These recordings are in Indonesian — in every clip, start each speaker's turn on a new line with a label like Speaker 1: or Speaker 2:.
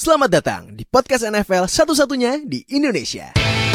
Speaker 1: Selamat datang di podcast NFL satu-satunya di Indonesia.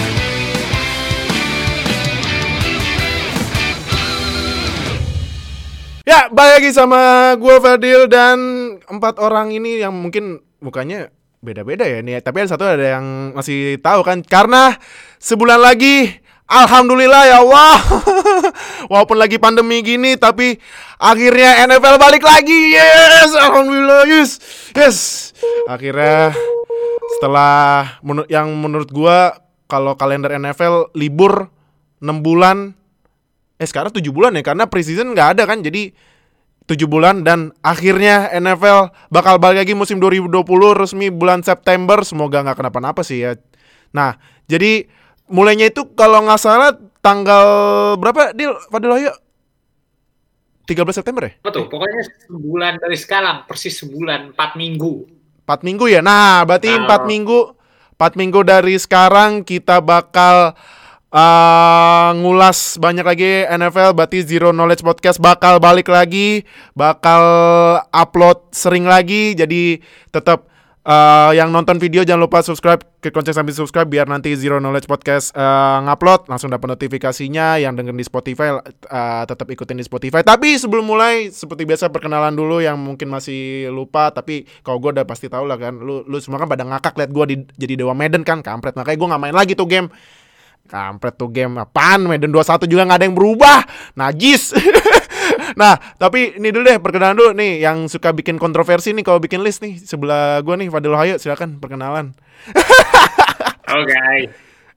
Speaker 2: Ya, balik lagi sama gue Fadil dan 4 orang ini yang mungkin mukanya beda-beda ya nih. Tapi ada yang masih tahu kan, karena sebulan lagi, alhamdulillah ya Allah. Walaupun lagi pandemi gini, tapi akhirnya NFL balik lagi. Yes, alhamdulillah, yes. Akhirnya setelah yang menurut gue, kalau kalender NFL libur 6 bulan, sekarang 7 bulan ya, karena preseason gak ada kan. Jadi 7 bulan dan akhirnya NFL bakal balik lagi musim 2020 resmi bulan September. Semoga gak kenapa-napa sih ya. Nah, jadi mulainya itu kalau gak salah tanggal berapa, Fadil Wahyu? 13 September ya?
Speaker 3: Betul, pokoknya sebulan dari sekarang, persis sebulan, 4 minggu.
Speaker 2: 4 minggu ya? Nah, berarti 4 minggu dari sekarang kita bakal ngulas banyak lagi NFL. Berarti Zero Knowledge Podcast bakal balik lagi, bakal upload sering lagi. Jadi tetap yang nonton video jangan lupa subscribe, klik lonceng sambil subscribe biar nanti Zero Knowledge Podcast ngupload langsung dapat notifikasinya. Yang dengerin di Spotify tetap ikutin di Spotify. Tapi sebelum mulai, seperti biasa perkenalan dulu yang mungkin masih lupa. Tapi kalau gue udah pasti tahu lah kan, lu semua kan pada ngakak liat gue jadi Dewa Madden kan, kampret. Makanya gue nggak main lagi tuh game. Kampret tuh game, apaan Madden 21 juga gak ada yang berubah, najis. Nah, tapi ini dulu deh, perkenalan dulu nih, yang suka bikin kontroversi nih kalau bikin list nih, sebelah gue nih, Fadil Wahyu, silakan perkenalan.
Speaker 3: Oke.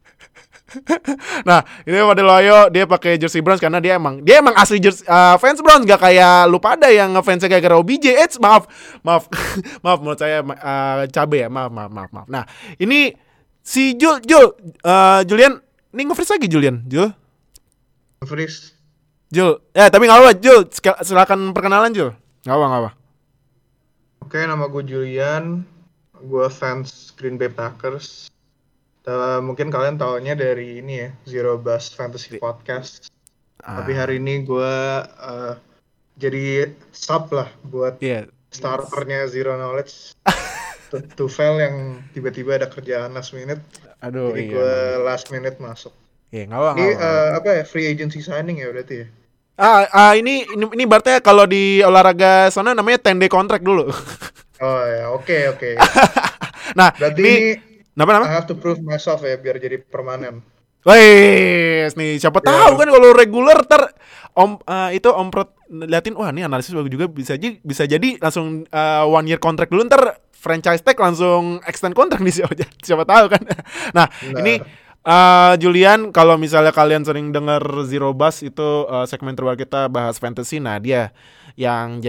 Speaker 2: Nah, ini Fadil Wahyu, dia pakai jersey Browns karena dia emang asli jersey, fans Browns, gak kayak lu pada yang ngefansnya kayak OBJ. Maaf, menurut saya cabe ya, maaf. Nah, ini si Julian. Ini nge-freeze lagi Julian, Jul.
Speaker 4: Nge-freeze.
Speaker 2: Jul, tapi gak apa-apa, Jul, silakan perkenalan Jul. Gak apa.
Speaker 4: Oke, nama gue Julian. Gue fans Green Bay Packers. Mungkin kalian taunya dari ini ya, Zero Buzz Fantasy Podcast. Tapi hari ini gue jadi sub lah buat starternya Zero Knowledge. Tufel yang tiba-tiba ada kerjaan last minute.
Speaker 2: Aduh,
Speaker 4: jadi gue last minute masuk.
Speaker 2: Iya, nggak
Speaker 4: ini apa ya, free agency signing ya berarti ya?
Speaker 2: Ini berarti kalau di olahraga sana namanya 10-day contract dulu.
Speaker 4: Oh ya, oke.
Speaker 2: Nah,
Speaker 4: berarti
Speaker 2: ini
Speaker 4: I have to prove myself ya biar jadi permanen.
Speaker 2: Wes nih, siapa tahu kan kalau reguler ntar Om Prot liatin, wah ini analisis bagus juga, bisa jadi langsung 1 year contract dulu, ntar franchise tag langsung extend kontrak nih, siapa tahu kan. Nah, ini Julian, kalau misalnya kalian sering dengar Zero Buzz itu segmen terbaru kita bahas fantasy. Nah, dia yang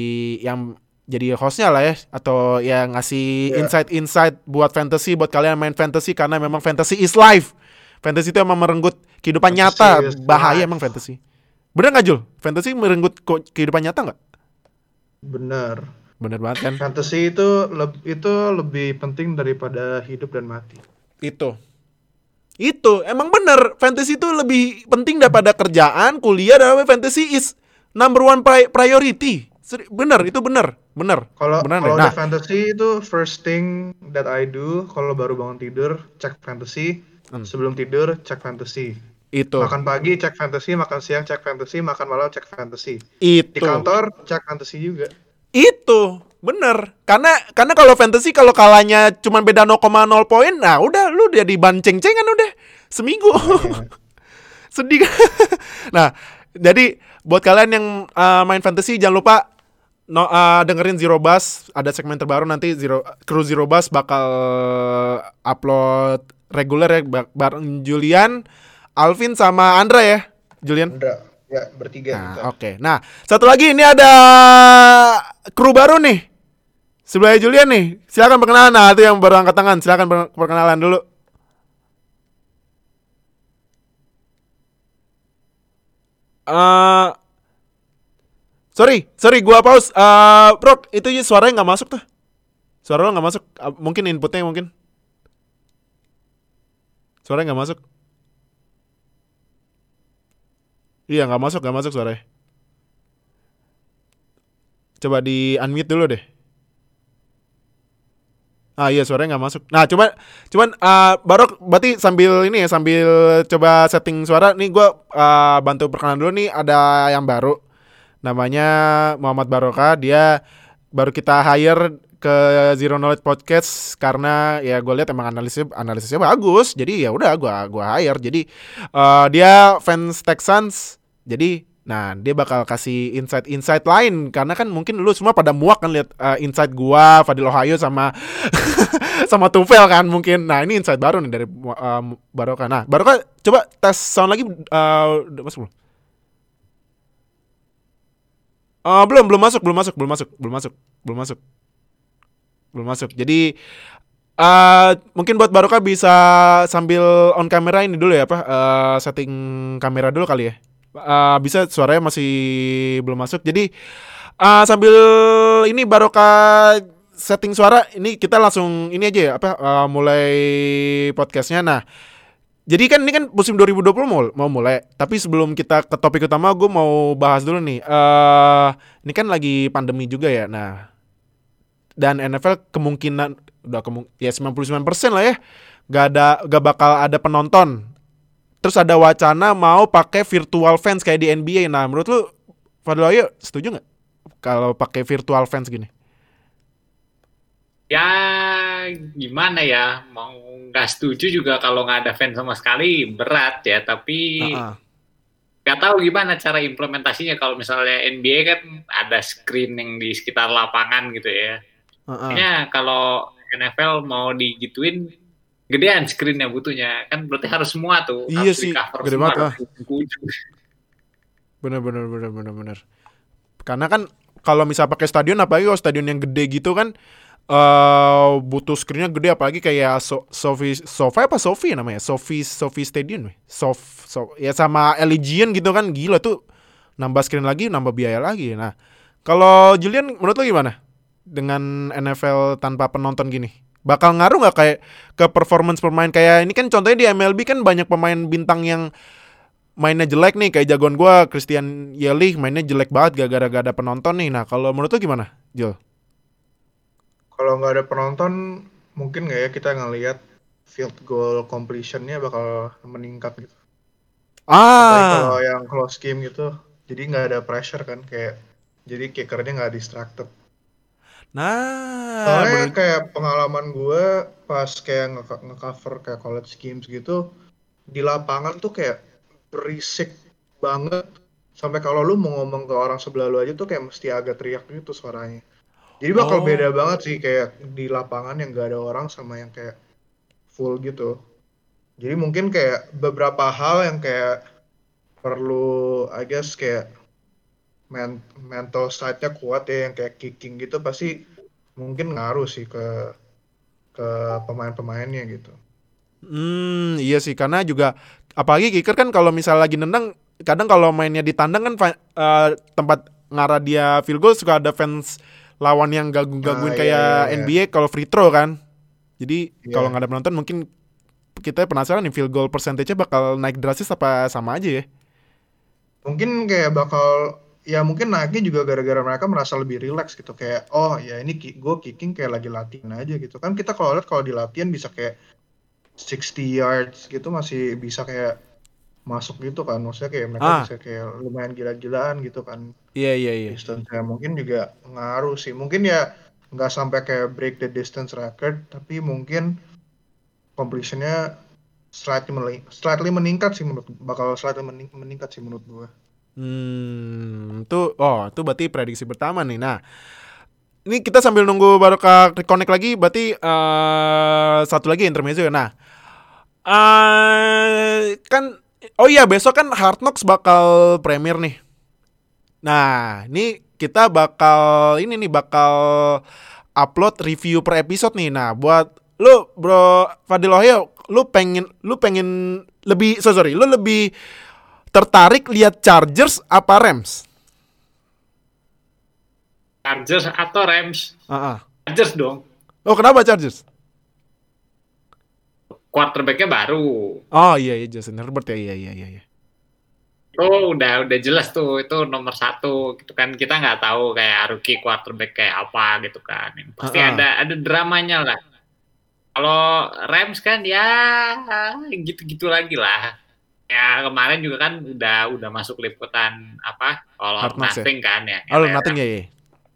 Speaker 2: jadi hostnya lah ya, atau yang ngasih insight buat fantasy, buat kalian main fantasy, karena memang fantasy is life. Fantasy itu emang merenggut kehidupan nyata, bahaya emang fantasy. Bener nggak Jul? Fantasy merenggut kehidupan nyata nggak? Bener banget kan?
Speaker 4: Fantasy itu lebih penting daripada hidup dan mati.
Speaker 2: Itu emang bener. Fantasy itu lebih penting daripada kerjaan, kuliah, dan fantasy is number 1 priority. Bener.
Speaker 4: Kalau udah fantasy itu first thing that I do kalau baru bangun tidur, cek fantasy. Sebelum tidur cek fantasy.
Speaker 2: Itu.
Speaker 4: Makan pagi cek fantasy, makan siang cek fantasy, makan malam cek fantasy.
Speaker 2: Itu.
Speaker 4: Di kantor cek fantasy juga.
Speaker 2: Itu bener. Karena kalau fantasy, kalau kalahnya cuma beda 0,0 poin, nah udah lu jadi ban ceng-cengan udah seminggu. Sedih kan? Nah, jadi buat kalian yang main fantasy jangan lupa dengerin Zero Buzz. Ada segmen terbaru nanti, Kru Zero Buzz bakal upload reguler ya, bareng Julian, Alvin sama Andra ya, Julian?
Speaker 4: Andra, ya bertiga.
Speaker 2: Nah, oke. Nah, satu lagi ini ada kru baru nih. Sebelahnya Julian nih. Silakan perkenalan. Nah, itu yang baru angkat tangan. Silakan perkenalan dulu. Sorry, gua pause. Bro, itu suaranya nggak masuk tuh. Suara lo nggak masuk. Mungkin inputnya mungkin. Suaranya nggak masuk. Iya, nggak masuk suaranya. Coba di unmute dulu deh. Ah iya suaranya nggak masuk. Nah cuman Barok berarti sambil ini ya sambil coba setting suara nih gue bantu perkenalan dulu nih ada yang baru namanya Muhammad Baroka. Dia baru kita hire ke Zero Knowledge Podcast karena ya gue lihat emang analisisnya bagus. Jadi ya udah gue hire. Jadi dia fans Texans. Jadi nah dia bakal kasih insight lain karena kan mungkin lu semua pada muak kan lihat insight gua, Fadil Ohio sama sama Tufel kan mungkin. Nah ini insight baru nih dari Baroka. Nah Baroka coba tes sound lagi udah masuk belum? Belum masuk. Jadi mungkin buat Baroka bisa sambil on kamera ini dulu ya setting kamera dulu kali ya. Bisa suaranya masih belum masuk. Jadi sambil ini Baroka setting suara, ini kita langsung ini aja ya mulai podcastnya. Nah, jadi kan ini kan musim 2020 mau mulai. Tapi sebelum kita ke topik utama, gue mau bahas dulu nih. Ini kan lagi pandemi juga ya. Nah, dan NFL kemungkinan ya 99% lah ya. Gak bakal ada penonton. Terus ada wacana mau pakai virtual fans kayak di NBA. Nah, menurut lu Fadil Ohio setuju nggak kalau pakai virtual fans gini?
Speaker 3: Ya gimana ya, mau nggak setuju juga kalau nggak ada fans sama sekali berat ya. Tapi nggak tahu gimana cara implementasinya. Kalau misalnya NBA kan ada screening di sekitar lapangan gitu ya. Kayaknya kalau NFL mau digituin gedean screen-nya butuhnya kan berarti harus semua tuh
Speaker 2: iya
Speaker 3: harus
Speaker 2: sih
Speaker 3: di-cover
Speaker 2: gede banget bener karena kan kalau misal pakai stadion apalagi kalau stadion yang gede gitu kan butuh screen-nya gede apalagi kayak Sophie namanya Sophie Stadium ya sama Allegiant gitu kan gila tuh nambah screen lagi nambah biaya lagi. Nah kalau Julian menurut lo gimana dengan NFL tanpa penonton gini? Bakal ngaruh nggak kayak ke performance pemain kayak ini kan contohnya di MLB kan banyak pemain bintang yang mainnya jelek nih kayak jagoan gue Christian Yelich mainnya jelek banget gara-gara gak ada penonton nih. Nah kalau menurut lo gimana Jul?
Speaker 4: Kalau nggak ada penonton mungkin nggak ya kita ngelihat field goal completion-nya bakal meningkat gitu. Apalagi kalau yang close game gitu jadi nggak ada pressure kan kayak jadi kickernya nggak distracted.
Speaker 2: Nah,
Speaker 4: soalnya kayak pengalaman gue pas kayak nge-cover kayak college games gitu di lapangan tuh kayak berisik banget sampai kalau lu mau ngomong ke orang sebelah lu aja tuh kayak mesti agak teriak gitu suaranya. Jadi bakal beda banget sih kayak di lapangan yang gak ada orang sama yang kayak full gitu. Jadi mungkin kayak beberapa hal yang kayak perlu I guess kayak mental side-nya kuat ya yang kayak kicking gitu pasti mungkin ngaruh sih ke pemain-pemainnya gitu.
Speaker 2: Iya sih karena juga apalagi kicker kan kalau misal lagi nendang kadang kalau mainnya di tandang kan tempat ngarah dia field goal suka ada fans lawan yang gangguin kayak NBA kalau free throw kan. Jadi kalau nggak ada penonton mungkin kita penasaran nih field goal percentage-nya bakal naik drastis apa sama aja ya?
Speaker 4: Mungkin kayak bakal ya mungkin naiknya juga gara-gara mereka merasa lebih relax gitu kayak oh ya ini gue kicking kayak lagi latihan aja gitu kan kita kalau lihat kalau di latihan bisa kayak 60 yards gitu masih bisa kayak masuk gitu kan maksudnya kayak mereka bisa kayak lumayan gila-gilaan gitu kan
Speaker 2: iya
Speaker 4: distance ya mungkin juga ngaruh sih mungkin ya nggak sampai kayak break the distance record tapi mungkin completionnya slightly meningkat sih bakal slightly meningkat sih menurut gue.
Speaker 2: Itu berarti prediksi pertama nih. Nah, ini kita sambil nunggu Baroka reconnect lagi, berarti satu lagi intermezzo ya. Nah, kan besok kan Hard Knocks bakal premier nih. Nah, ini kita bakal upload review per episode nih. Nah, buat lu Bro Fadil Ohio, lu lebih tertarik lihat Chargers apa Rams?
Speaker 3: Chargers atau Rams? Chargers dong.
Speaker 2: Oh, kenapa Chargers?
Speaker 3: Quarterback-nya baru.
Speaker 2: Oh iya Justin Herbert ya iya.
Speaker 3: Oh udah jelas tuh itu nomor 1 gitu kan kita nggak tahu kayak rookie quarterback kayak apa gitu kan. Pasti ada dramanya lah. Kalau Rams kan ya gitu-gitu lagi lah. Ya kemarin juga kan udah masuk liputan apa All or Nothing ya? Kan ya.
Speaker 2: All or Nothing ya.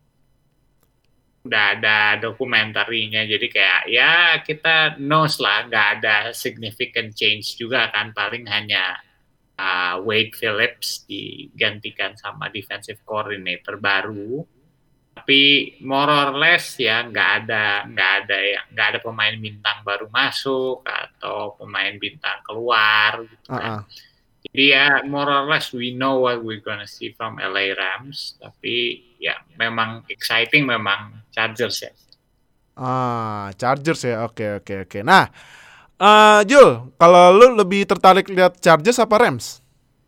Speaker 3: Udah ada dokumentarinya, jadi kayak ya kita knows lah, nggak ada significant change juga kan, paling hanya Wade Phillips digantikan sama defensive coordinator baru, tapi more or less ya nggak ada pemain bintang baru masuk atau pemain bintang keluar gitu kan. Jadi ya more or less we know what we're gonna see from LA Rams, tapi ya memang exciting memang Chargers ya.
Speaker 2: Chargers ya. Oke. Nah, Jul, kalau lu lebih tertarik lihat Chargers apa Rams?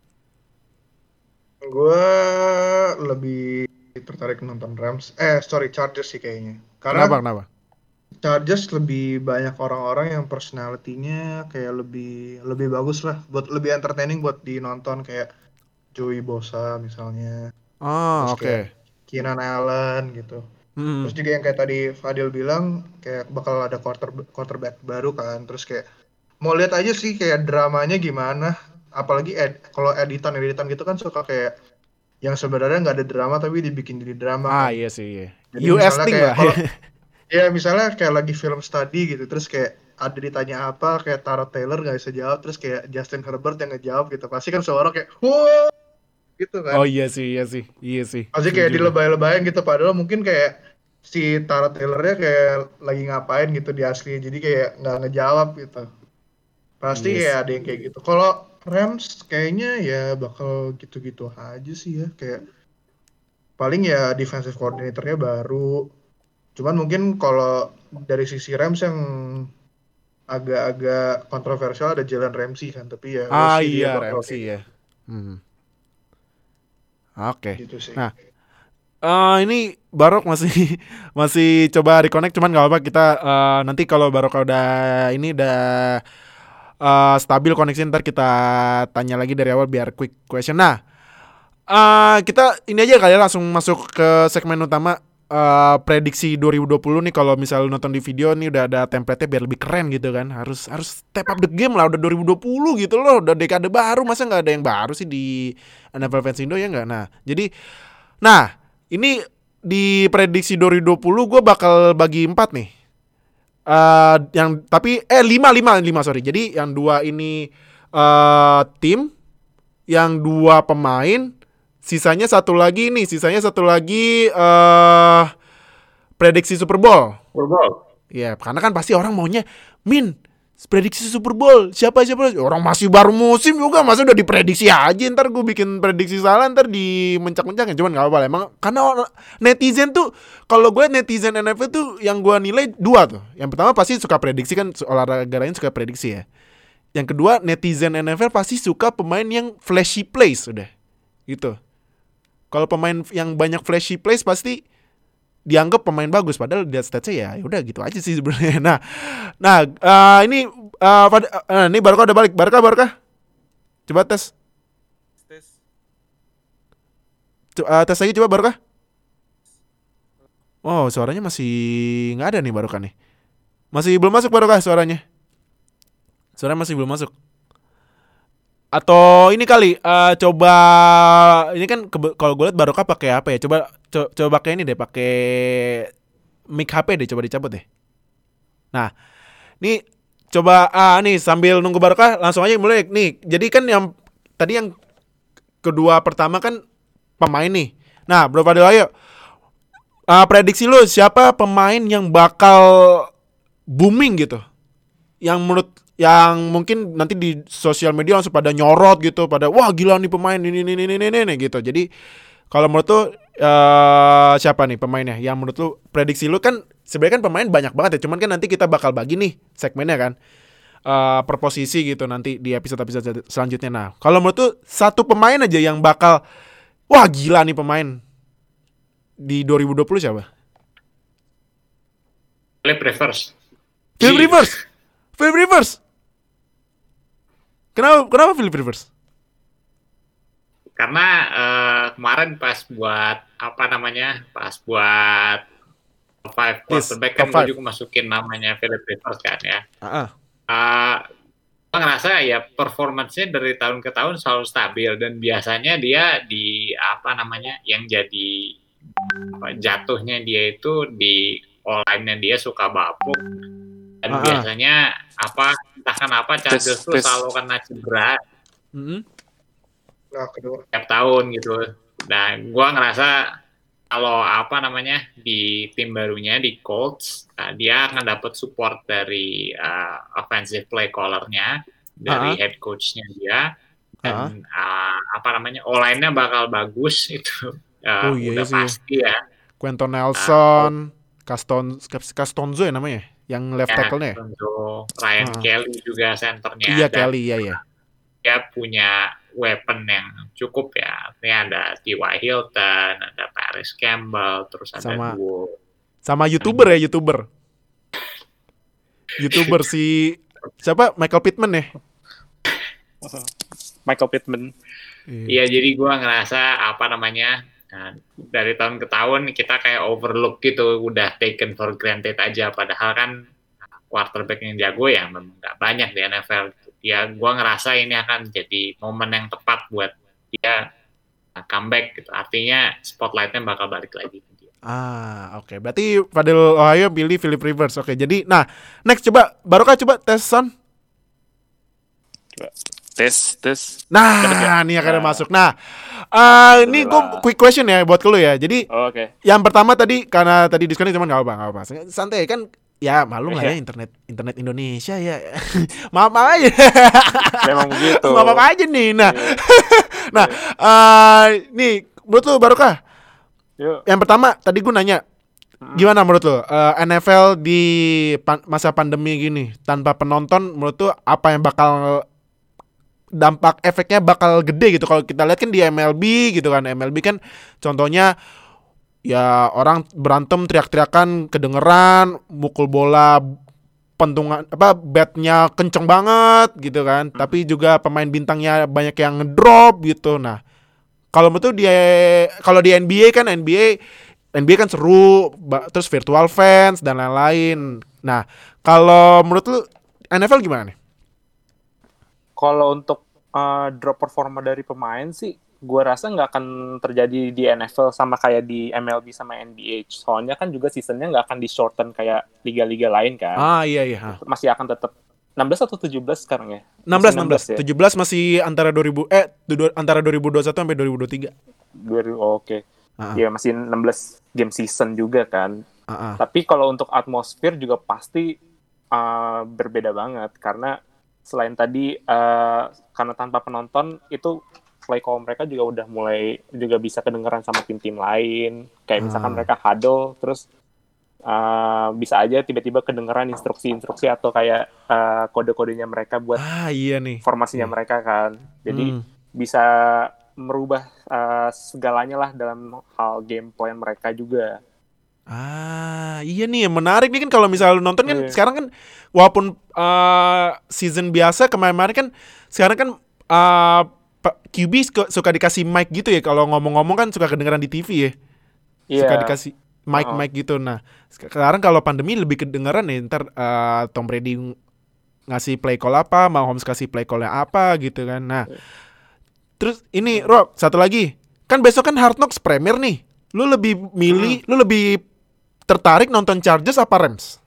Speaker 4: Gue lebih tertarik nonton Chargers sih kayaknya. Karena
Speaker 2: Kenapa?
Speaker 4: Chargers lebih banyak orang-orang yang personality-nya kayak lebih bagus lah, buat lebih entertaining buat dinonton, kayak Joey Bosa misalnya.
Speaker 2: Oke.
Speaker 4: Keenan Allen gitu. Terus juga yang kayak tadi Fadil bilang kayak bakal ada quarterback baru kan. Terus kayak mau lihat aja sih kayak dramanya gimana. Apalagi kalau editan gitu kan suka kayak yang sebenarnya nggak ada drama tapi dibikin jadi drama.
Speaker 2: Iya sih.
Speaker 4: Jadi
Speaker 2: US thing lah.
Speaker 4: Ya misalnya kayak lagi film study gitu, terus kayak ada ditanya apa, kayak Tara Taylor nggak bisa jawab, terus kayak Justin Herbert yang ngejawab gitu, pasti kan suara kayak wow gitu kan.
Speaker 2: Oh iya sih.
Speaker 4: Pasti kayak dilebay-lebayin gitu, padahal mungkin kayak si Tara Taylornya kayak lagi ngapain gitu di asli, jadi kayak nggak ngejawab gitu. Pasti kayak ada yang kayak gitu. Kalau Rams kayaknya ya bakal gitu-gitu aja sih ya, kayak paling ya defensive coordinatornya baru. Cuman mungkin kalau dari sisi Rams yang agak-agak kontroversial ada Jalen Ramsey kan, tapi ya
Speaker 2: iya Ramsey ya. Oke.
Speaker 4: Gitu sih.
Speaker 2: Nah, ini Barok masih coba reconnect, cuman nggak apa kita nanti kalau Barok udah stabil koneksi, ntar kita tanya lagi dari awal biar quick question. Nah, kita ini aja kali ya, langsung masuk ke segmen utama. Prediksi 2020 nih, kalau misal nonton di video nih udah ada template-nya biar lebih keren gitu kan. Harus step up the game lah, udah 2020 gitu loh, udah dekade baru, masa nggak ada yang baru sih di NFL Fans Indo ya nggak? Nah ini di prediksi 2020 gue bakal bagi 4 nih. Yang tapi 5 sorry. Jadi yang 2 ini tim, yang 2 pemain. Sisanya satu lagi prediksi Super Bowl. Ya, karena kan pasti orang maunya prediksi Super Bowl. Siapa? Orang masih baru musim juga, masa udah diprediksi aja. Ntar gue bikin prediksi salah, ntar dimencak-mencakin. Cuman gak apa-apa emang. Karena netizen tuh, kalau gue netizen NFL tuh yang gue nilai 2 tuh. Yang pertama pasti suka prediksi kan, olahraga lain suka prediksi ya. Yang kedua, netizen NFL pasti suka pemain yang flashy plays udah. Gitu. Kalau pemain yang banyak flashy plays pasti dianggap pemain bagus, padahal dia statsnya ya udah gitu aja sih sebenarnya. Ini Barca udah balik. Barca. Coba tes. Tes lagi coba Barca. Oh, suaranya masih nggak ada nih Barca nih. Masih belum masuk Barca suaranya. Suaranya masih belum masuk. Atau ini kali coba ini kan kalau gue lihat Barokah pakai apa ya? Coba pakai ini deh, pakai mic HP deh, coba dicabut deh. Nah, ini coba nih sambil nunggu Barokah langsung aja mulai nih. Jadi kan yang tadi yang kedua pertama kan pemain nih. Nah, Bro Fadil ayo. Prediksi lu siapa pemain yang bakal booming gitu? Yang mungkin nanti di sosial media langsung pada nyorot gitu, pada wah gila nih pemain ini gitu. Jadi kalau menurut lu siapa nih pemainnya yang menurut lu, prediksi lu kan sebenarnya kan pemain banyak banget ya, cuman kan nanti kita bakal bagi nih segmennya kan per posisi gitu nanti di episode selanjutnya. Nah, kalau menurut lu satu pemain aja yang bakal wah gila nih pemain di 2020 siapa?
Speaker 3: Philip
Speaker 2: Rivers. Kenapa Philip Rivers?
Speaker 3: Karena kemarin pas buat 5 quarterback kan gue juga masukin namanya Philip Rivers kan ya. Gue ngerasa ya performance-nya dari tahun ke tahun selalu stabil dan biasanya dia di yang jadi jatuhnya dia itu di online-nya dia suka bapuk dan biasanya entah kenapa Chargers tuh selalu kena cedera tiap tahun gitu. Nah, gue ngerasa kalau di tim barunya di Colts, dia akan dapat support dari offensive play caller-nya, dari head coach-nya dia, dan online-nya bakal bagus itu. Udah pasti ya.
Speaker 2: Quentin Nelson, Castonzo ya namanya, yang left tackle-nya.
Speaker 3: Ryan Kelly juga centernya.
Speaker 2: Iya, Kelly, iya.
Speaker 3: Dia punya weapon yang cukup ya. Ini ada T.Y. Hilton, ada Paris Campbell, terus ada
Speaker 2: sama YouTuber si siapa? Michael Pittman ya?
Speaker 5: Michael Pittman.
Speaker 3: Iya, jadi gue ngerasa dari tahun ke tahun kita kayak overlook gitu, udah taken for granted aja. Padahal kan quarterback yang jago ya memang nggak banyak di NFL. Ya, gue ngerasa ini akan jadi momen yang tepat buat dia comeback gitu. Artinya spotlightnya bakal balik lagi ke dia.
Speaker 2: Oke. Berarti Fadil Ohio pilih Philip Rivers. Oke, jadi next coba Barokah coba tes Son.
Speaker 5: Coba tes.
Speaker 2: Nah, ini akan masuk. Nah, ini gue quick question ya buat lu ya. Jadi yang pertama tadi karena tadi diskonnya cuma nggak apa-apa. Santai kan. Ya malu lah ya internet Indonesia ya. Maaf aja.
Speaker 5: Memang begitu.
Speaker 2: Maaf aja nih. Nah, nih menurut lu Barokah? Yang pertama tadi gue nanya, gimana menurut lu NFL di masa pandemi gini tanpa penonton, menurut lu apa yang bakal dampak efeknya bakal gede gitu? Kalau kita lihat kan di MLB gitu kan, MLB kan contohnya ya orang berantem teriak-teriakan kedengeran, mukul bola pentungan batnya kenceng banget gitu kan. Tapi juga pemain bintangnya banyak yang ngedrop gitu. Nah, kalau menurut kalau di NBA kan seru, terus virtual fans dan lain-lain. Nah, kalau menurut lu NFL gimana nih?
Speaker 5: Kalau untuk drop performa dari pemain sih gue rasa nggak akan terjadi di NFL sama kayak di MLB sama NBA. Soalnya kan juga seasonnya nggak akan di shorten kayak liga-liga lain kan.
Speaker 2: Iya.
Speaker 5: Masih akan tetap 16 atau 17 sekarang ya?
Speaker 2: 16 ya? 17 masih antara 2021 sampai 2023.
Speaker 5: Oke. Ya masih 16 game season juga kan. Tapi kalau untuk atmosfer juga pasti berbeda banget karena selain tadi karena tanpa penonton itu play call mereka juga udah mulai juga bisa kedengeran sama tim-tim lain. Kayak misalkan mereka huddle, terus bisa aja tiba-tiba kedengeran instruksi-instruksi atau kayak kode-kodenya mereka buat formasinya mereka kan. Jadi bisa merubah segalanya lah dalam hal game plan mereka juga.
Speaker 2: Iya nih, menarik nih kan kalau misalnya lu nonton kan sekarang kan walaupun season biasa kemarin kan sekarang kan QB suka dikasih mic gitu ya, kalau ngomong-ngomong kan suka kedengeran di TV ya. Suka dikasih mic gitu. Nah, sekarang kalau pandemi lebih kedengeran nih, ntar Tom Brady ngasih play call apa, Mahomes kasih play call-nya apa gitu kan. Nah, terus ini Rob, satu lagi. Kan besok kan Hard Knocks Premier nih. Lu lebih tertarik nonton Chargers apa Rams?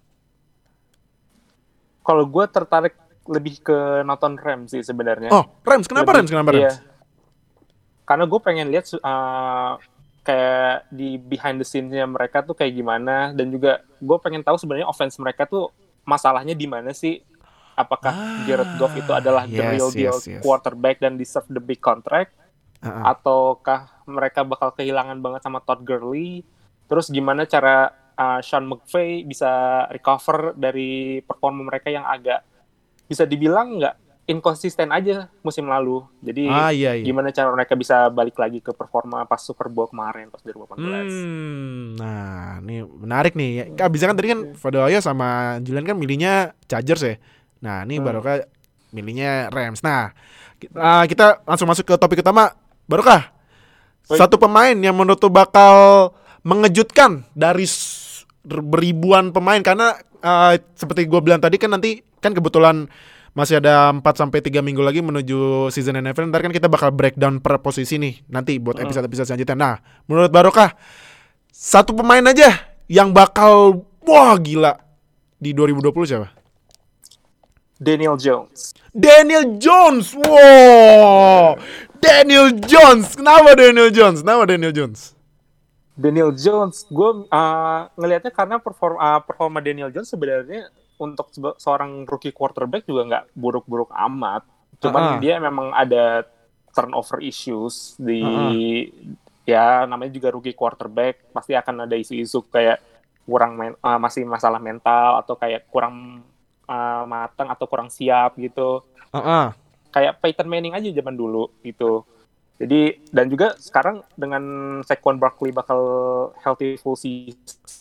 Speaker 5: Kalau gue tertarik lebih ke nonton Rams sih sebenarnya.
Speaker 2: Rams. Kenapa Rams?
Speaker 5: Iya. Karena gue pengen lihat kayak di behind the scenes-nya mereka tuh kayak gimana, dan juga gue pengen tahu sebenarnya offense mereka tuh masalahnya di mana sih? Apakah Jared Goff itu adalah the real deal quarterback dan deserve the big contract? Ataukah mereka bakal kehilangan banget sama Todd Gurley? Terus gimana cara Sean McVay bisa recover dari performa mereka yang agak bisa dibilang nggak inkonsisten aja musim lalu. Jadi gimana cara mereka bisa balik lagi ke performa pas Super Bowl kemarin pas 2018.
Speaker 2: Nah, ini menarik nih. Bisa kan tadi kan Fadoya sama Julian kan milihnya Chargers ya. Nah, ini Barokah milihnya Rams. Nah, kita langsung masuk ke topik utama. Barokah, satu pemain yang menurut bakal mengejutkan dari beribuan pemain karena seperti gue bilang tadi kan nanti kan kebetulan masih ada 4-3 minggu lagi menuju season NFL. Ntar kan kita bakal breakdown per posisi nih nanti buat episode-episode selanjutnya. Nah, menurut Barokah, satu pemain aja yang bakal wah gila di 2020 siapa?
Speaker 5: Daniel Jones.
Speaker 2: Daniel Jones. Wow. Daniel Jones. Kenapa Daniel Jones? Daniel Jones,
Speaker 5: gue ngelihatnya karena performa Daniel Jones sebenarnya untuk seorang rookie quarterback juga nggak buruk-buruk amat. Cuman dia memang ada turnover issues di ya namanya juga rookie quarterback, pasti akan ada isu-isu kayak kurang masih masalah mental atau kayak kurang matang atau kurang siap gitu. Kayak Peyton Manning aja zaman dulu gitu. Jadi dan juga sekarang dengan Saquon Barkley bakal healthy full season,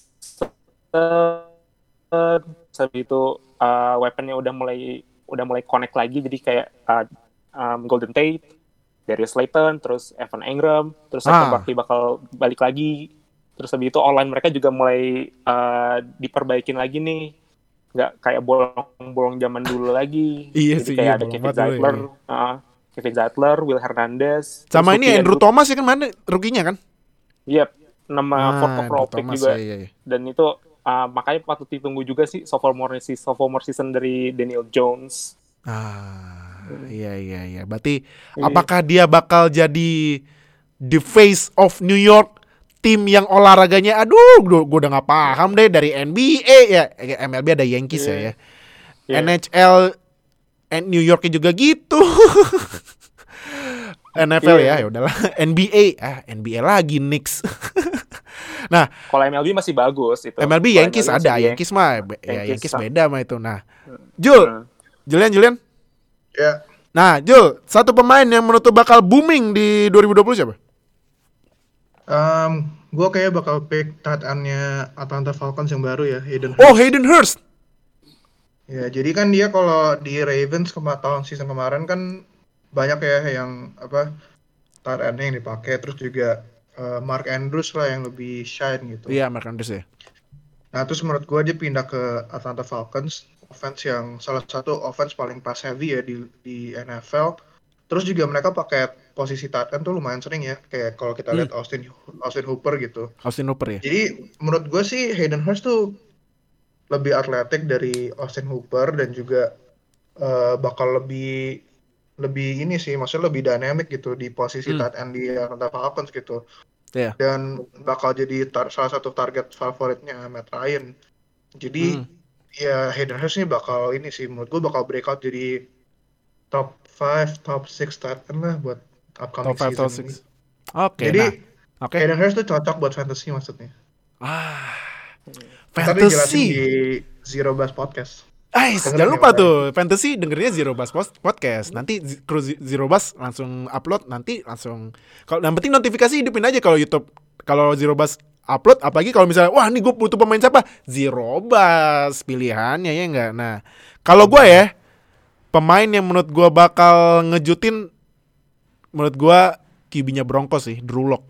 Speaker 5: itu weaponnya udah mulai connect lagi, jadi kayak Golden Tate, Darius Slayton, terus Evan Engram, terus Saquon Barkley bakal balik lagi, terus habis itu online mereka juga mulai diperbaikin lagi nih, nggak kayak bolong-bolong zaman dulu lagi.
Speaker 2: Iya
Speaker 5: jadi
Speaker 2: sih,
Speaker 5: kayak
Speaker 2: iya,
Speaker 5: ada Kevin Zeitler, Will Hernandez,
Speaker 2: sama ini Andrew Thomas ya kan mana ruginya kan?
Speaker 5: Iya, nama fourth overall pick juga.
Speaker 2: Iya.
Speaker 5: Dan itu makanya patut ditunggu juga sih sophomore season dari Daniel Jones.
Speaker 2: Iya. Berarti apakah dia bakal jadi the face of New York, tim yang olahraganya gue udah nggak paham deh, dari NBA ya, MLB ada Yankees ya. NHL New Yorknya juga gitu. NFL ya udahlah. NBA lagi Knicks. Nah,
Speaker 5: kalau MLB masih bagus itu.
Speaker 2: MLB Yankees ada, Yankees mah Yankees beda mah itu. Nah, Julian.
Speaker 4: Ya.
Speaker 2: Nah, Jul, satu pemain yang menurut bakal booming di 2020 siapa?
Speaker 4: Gue kayak bakal pick tight end-nya Atlanta Falcons yang baru ya, Hayden Hurst.
Speaker 2: Oh, Hayden Hurst.
Speaker 4: Ya, jadi kan dia kalau di Ravens tahun season kemarin kan banyak ya yang tight end-nya yang dipakai, terus juga Mark Andrews lah yang lebih shine gitu.
Speaker 2: Iya, Mark Andrews ya.
Speaker 4: Nah, terus menurut gue dia pindah ke Atlanta Falcons, offense yang salah satu offense paling pass heavy ya di NFL. Terus juga mereka pakai posisi tight end tuh lumayan sering ya, kayak kalau kita lihat Austin Hooper gitu.
Speaker 2: Austin Hooper ya.
Speaker 4: Jadi menurut gue sih Hayden Hurst tuh lebih atletik dari Austin Hooper dan juga bakal lebih ini sih, maksudnya lebih dynamic gitu di posisi tight end di Atlanta Falcons gitu.
Speaker 2: Yeah.
Speaker 4: Dan bakal jadi salah satu target favoritnya Matt Ryan. Jadi ya Hayden Hurst ini bakal ini sih, menurut gue bakal breakout jadi top 5, top 6 tight end lah buat upcoming
Speaker 2: top 5,
Speaker 4: season
Speaker 2: top 6.
Speaker 4: ini.
Speaker 2: Oke.
Speaker 4: Jadi Hayden Hurst tuh cocok buat fantasy maksudnya.
Speaker 2: Fantasy.
Speaker 4: Tadi jelasin di Zero Buzz Podcast.
Speaker 2: Jangan lupa tuh fantasy dengerinnya Zero Buzz Podcast. Nanti kru Zero Buzz langsung upload, nanti langsung. Kalau yang penting notifikasi hidupin aja kalau YouTube. Kalau Zero Buzz upload, apalagi kalau misalnya wah nih gue butuh pemain siapa, Zero Buzz pilihannya ya enggak. Nah, kalau gue ya pemain yang menurut gue bakal ngejutin, menurut gue QB-nya Broncos sih, Drew Lock.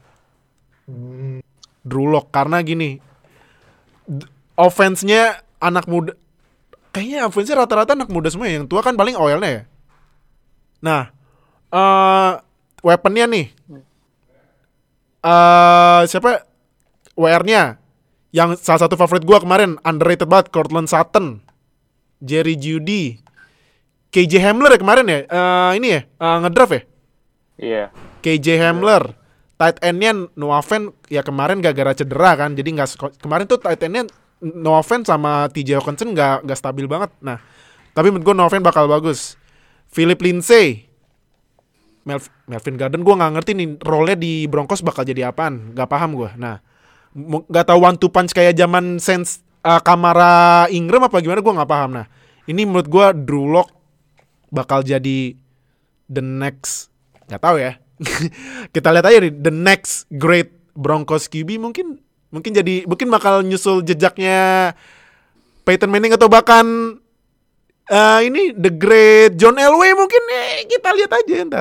Speaker 2: Karena gini, offense-nya anak muda. Kayaknya offense-nya rata-rata anak muda semua, yang tua kan paling oilnya ya. Nah, weapon-nya nih. Siapa? WR-nya. Yang salah satu favorit gue kemarin, underrated banget, Courtland Sutton, Jerry Jeudy, KJ Hamler ya kemarin ya. Ini ya, ngedraft ya?
Speaker 5: Iya.
Speaker 2: KJ Hamler. Tight end-nya Noah Fant ya kemarin gara-gara cedera kan. Jadi kemarin tuh tight end-nya Noah Fant sama TJ Hawkinson gak stabil banget. Nah, tapi menurut gue Noah Fant bakal bagus. Philip Lindsay, Melvin Gordon, gue gak ngerti nih role-nya di Broncos bakal jadi apaan. Gak paham gue. Nah, gak tahu one two punch kayak zaman Saints Kamara Ingram apa gimana, gue gak paham. Nah, ini menurut gue Drew Lock bakal jadi the next, gak tahu ya. Kita lihat aja nih, the next great Broncos QB mungkin bakal nyusul jejaknya Peyton Manning atau bahkan ini the great John Elway mungkin. Kita lihat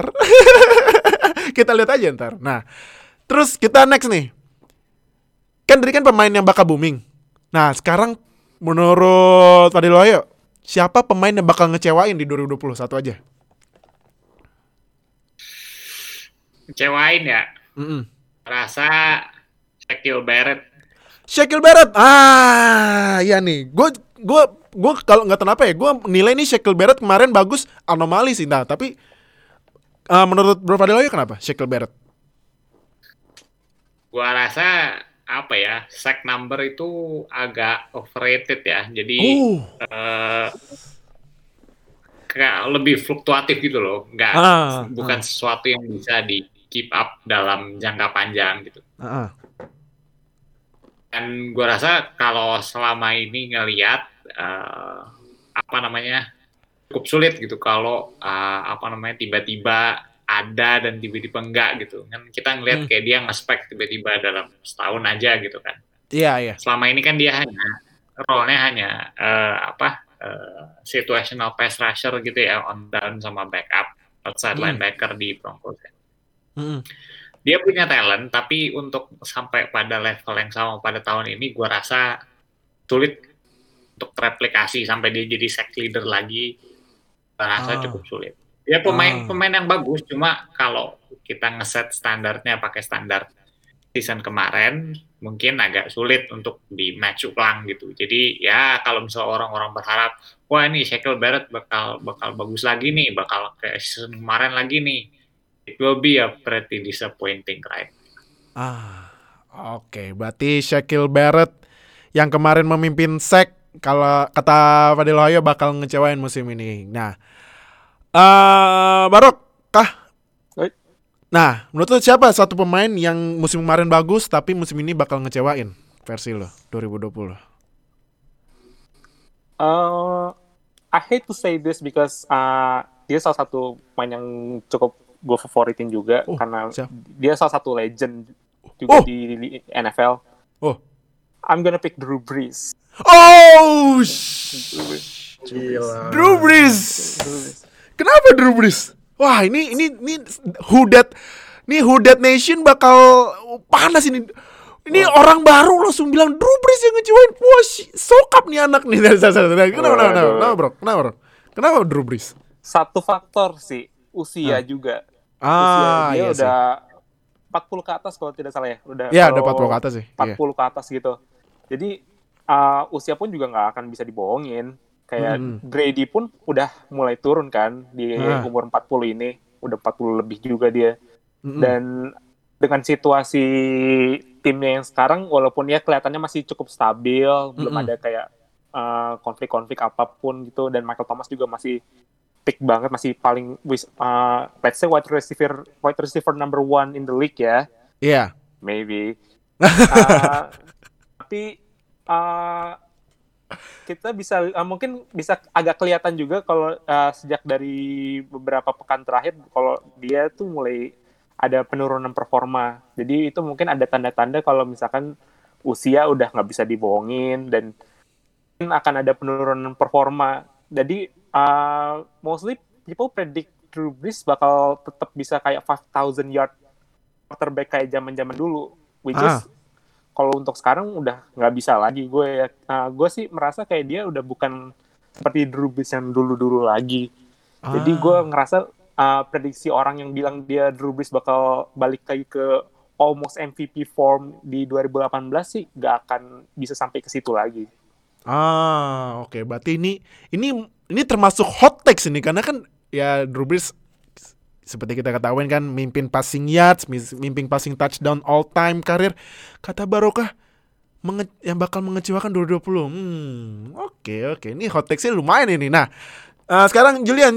Speaker 2: aja ntar. Nah, terus kita next nih. Kan tadi kan pemain yang bakal booming. Nah, sekarang menurut Fadil Wahyu, siapa pemain yang bakal ngecewain di 2020? Satu aja.
Speaker 3: Kecewain ya? Rasa Shaquille Barrett.
Speaker 2: Shaquille Barrett. Iya nih. Gue kalau nggak tahu apa ya, gue nilai nih Shaquille Barrett kemarin bagus, anomali sih. Nah, tapi menurut Bro Fadil Wahyu kenapa Shaquille Barrett?
Speaker 3: Gua rasa apa ya, sack number itu agak overrated ya. Jadi kayak lebih fluktuatif gitu loh. Bukan sesuatu yang bisa di keep up dalam jangka panjang gitu. Dan gue rasa kalau selama ini ngelihat cukup sulit gitu kalau tiba-tiba ada dan tiba-tiba enggak gitu kan. Kita ngelihat kayak dia nge-spec tiba-tiba dalam setahun aja gitu kan.
Speaker 2: Iya.
Speaker 3: Selama ini kan dia role-nya hanya situational pass rusher gitu ya, on down sama backup outside linebacker di Broncos. Dia punya talent, tapi untuk sampai pada level yang sama pada tahun ini, gue rasa sulit untuk replikasi sampai dia jadi sack leader lagi. Gue rasa cukup sulit. Dia pemain yang bagus, cuma kalau kita ngeset standarnya pakai standar season kemarin, mungkin agak sulit untuk di match ulang gitu. Jadi ya kalau misalnya orang-orang berharap, wah ini Shaquille Barrett bakal bagus lagi nih, bakal kayak season kemarin lagi nih, it will be a pretty disappointing, right?
Speaker 2: Oke. Berarti Shaquille Barrett yang kemarin memimpin sack, kalau kata Fadil Wahyu bakal ngecewain musim ini. Nah, Barok kah? Nah, menurut lo siapa satu pemain yang musim kemarin bagus tapi musim ini bakal ngecewain versi lo 2020?
Speaker 5: I hate to say this because dia salah satu pemain yang cukup gue favoritin juga karena dia salah satu legend juga di NFL. I'm gonna pick Drew Brees.
Speaker 2: Gila. Drew Brees. Kenapa Drew Brees? Wah, ini Who Dat Nation bakal panas ini. Ini orang baru langsung bilang Drew Brees yang ngecewain. Wah, sokap nih anak nih. Kenapa, bro? Kenapa Drew Brees?
Speaker 5: Satu faktor sih, usia juga. Usia dia udah 40 ke atas kalau tidak salah ya. Udah
Speaker 2: 40 ke atas sih.
Speaker 5: 40 ke atas gitu. Jadi usia pun juga nggak akan bisa dibohongin. Kayak Brady pun udah mulai turun kan di umur 40 ini. Udah 40 lebih juga dia. Dan dengan situasi timnya yang sekarang, walaupun ya kelihatannya masih cukup stabil, belum ada kayak konflik-konflik apapun gitu. Dan Michael Thomas juga masih peak banget, masih paling let's say wide receiver number 1 in the league ya.
Speaker 2: Iya.
Speaker 5: Maybe. Tapi kita bisa mungkin bisa agak kelihatan juga kalau sejak dari beberapa pekan terakhir kalau dia tuh mulai ada penurunan performa. Jadi itu mungkin ada tanda-tanda kalau misalkan usia udah nggak bisa dibohongin dan akan ada penurunan performa. Jadi mostly people predict Drew Brees bakal tetap bisa kayak 5,000 yard quarterback kayak zaman-zaman dulu, which is kalau untuk sekarang udah nggak bisa lagi. Gue sih merasa kayak dia udah bukan seperti Drew Brees yang dulu-dulu lagi. Jadi gue ngerasa prediksi orang yang bilang dia Drew Brees bakal balik lagi ke almost MVP form di 2018 sih nggak akan bisa sampai ke situ lagi.
Speaker 2: Oke. Berarti ini termasuk hot takes ini karena kan ya Drew Brees seperti kita ketahui kan mimpin passing yards, mimpin passing touchdown all time karir. Kata Barokah yang bakal mengecewakan 2020. Oke. Ini hot takes-nya lumayan ini. Nah, sekarang Julian.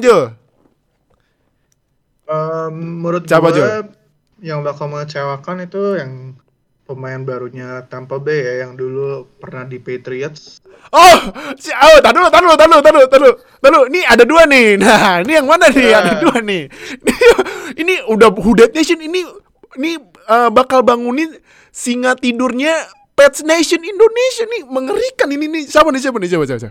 Speaker 4: Menurut gue yang bakal mengecewakan itu yang pemain barunya Tampa Bay ya, yang dulu pernah di Patriots. Tahu. Ini ada dua nih. Nah, ini yang mana nih? Ada dua nih. Ini udah Who Dat Nation ini bakal bangunin singa tidurnya Pets Nation Indonesia nih. Mengerikan ini nih. Siapa nih? Coba.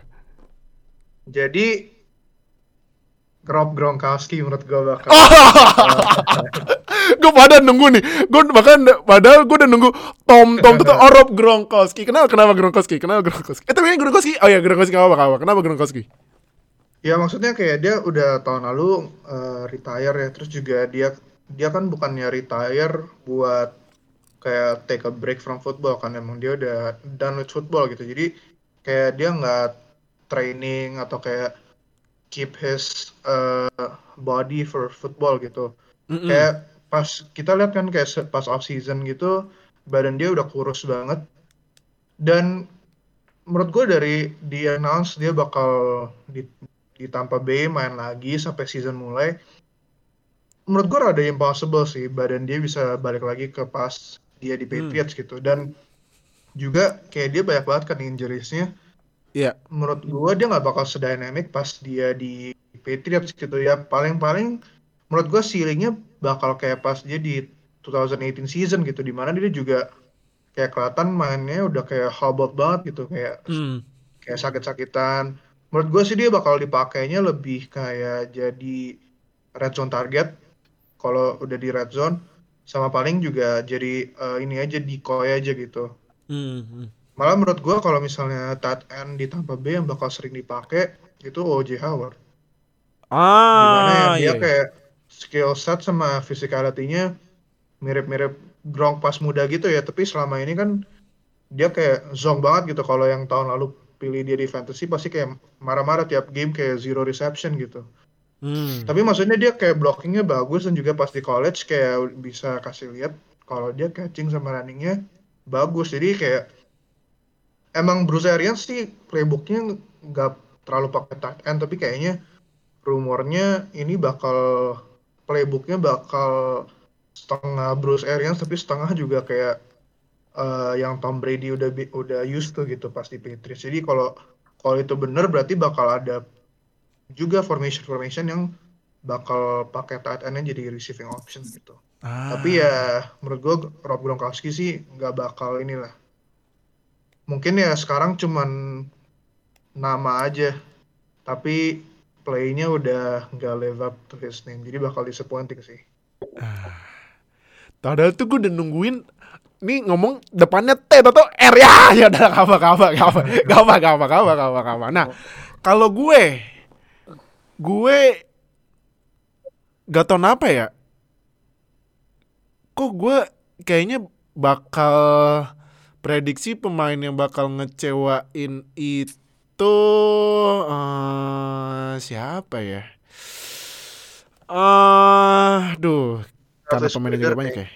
Speaker 4: Jadi Rob Gronkowski menurut gue bakal.
Speaker 2: Gue pada nunggu nih. Padahal gue udah nunggu Tom tuh Rob Gronkowski. Kenapa Gronkowski? Tapi ini Gronkowski. Oh ya Gronkowski apa? Kenapa Gronkowski?
Speaker 4: Ya maksudnya kayak dia udah tahun lalu retire ya. Terus juga dia kan bukannya retire buat kayak take a break from football kan, emang dia udah done with football gitu. Jadi kayak dia nggak training atau kayak keep his body for football gitu. Kayak pas kita lihat kan kayak pas off season gitu badan dia udah kurus banget, dan menurut gue dari di announce dia bakal di Tampa Bay main lagi sampai season mulai, menurut gue rada impossible sih badan dia bisa balik lagi ke pas dia di Patriots gitu. Dan juga kayak dia banyak banget kan injuries-nya.
Speaker 2: Iya.
Speaker 4: Menurut gue dia nggak bakal sedynamic pas dia di Patriots gitu ya. Paling menurut gue ceilingnya bakal kayak pas dia di 2018 season gitu, dimana dia juga kayak kelihatan mainnya udah kayak hobbled banget gitu, kayak sakit-sakitan. Menurut gue sih dia bakal dipakainya lebih kayak jadi red zone target kalau udah di red zone, sama paling juga jadi ini aja decoy aja gitu. Malah menurut gue kalau misalnya tight end di Tampa Bay yang bakal sering dipakai itu O.J. Howard. Dimana ya dia kayak skill set sama physicality-nya mirip-mirip Gronk pas muda gitu ya, tapi selama ini kan dia kayak zonk banget gitu. Kalau yang tahun lalu pilih dia di fantasy pasti kayak marah-marah tiap game kayak 0 reception gitu. Tapi maksudnya dia kayak blockingnya bagus, dan juga pas di college kayak bisa kasih lihat kalau dia catching sama runningnya bagus. Jadi kayak emang Bruce Arians sih playbooknya nggak terlalu pakai tight end, tapi kayaknya rumornya ini playbooknya bakal setengah Bruce Arians tapi setengah juga kayak yang Tom Brady udah used to gitu pas di Patriots. Jadi kalau itu benar berarti bakal ada juga formation yang bakal pakai tight end-nya jadi receiving option gitu. Tapi ya menurut gue Rob Gronkowski sih nggak bakal inilah. Mungkin ya sekarang cuman nama aja, tapi play-nya udah nggak live up to his name, jadi bakal disappointing sih.
Speaker 2: Padahal tuh gue udah nungguin nih ngomong depannya T atau R ya udah apa. Nah kalau gue gak tau kenapa ya, kok gue kayaknya bakal prediksi pemain yang bakal ngecewain itu siapa ya? Karena pemainnya juga banyak ya.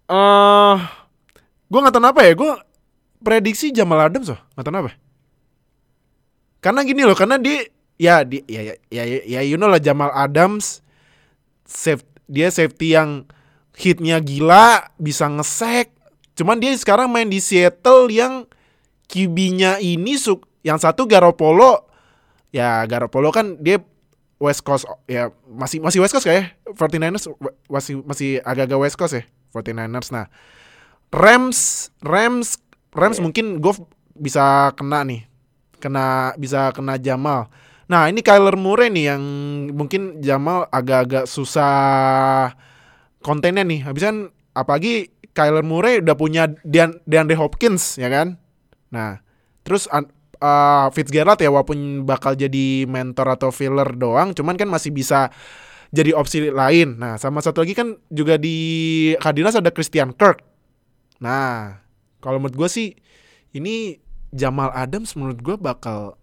Speaker 2: Gue nggak tahu apa ya. Gue prediksi Jamal Adams loh. Nggak tahu apa. Karena gini loh. Karena dia you know lah, Jamal Adams dia safety yang hitnya gila, bisa nge-sack. Cuman dia sekarang main di Seattle yang QB-nya ini yang satu Garoppolo. Ya Garoppolo kan dia West Coast ya, masih West Coast kayak 49ers masih agak-agak West Coast ya 49ers. Nah, Rams mungkin gue bisa kena nih. Bisa kena Jamal. Nah, ini Kyler Murray nih yang mungkin Jamal agak-agak susah kontennya nih. Habis kan apalagi Kyler Murray udah punya DeAndre Hopkins ya kan. Nah, terus Fitzgerald ya walaupun bakal jadi mentor atau filler doang, cuman kan masih bisa jadi opsi lain. Nah, sama satu lagi kan juga di Cardinals ada Christian Kirk. Nah, kalau menurut gue sih ini Jamal Adams menurut gue bakal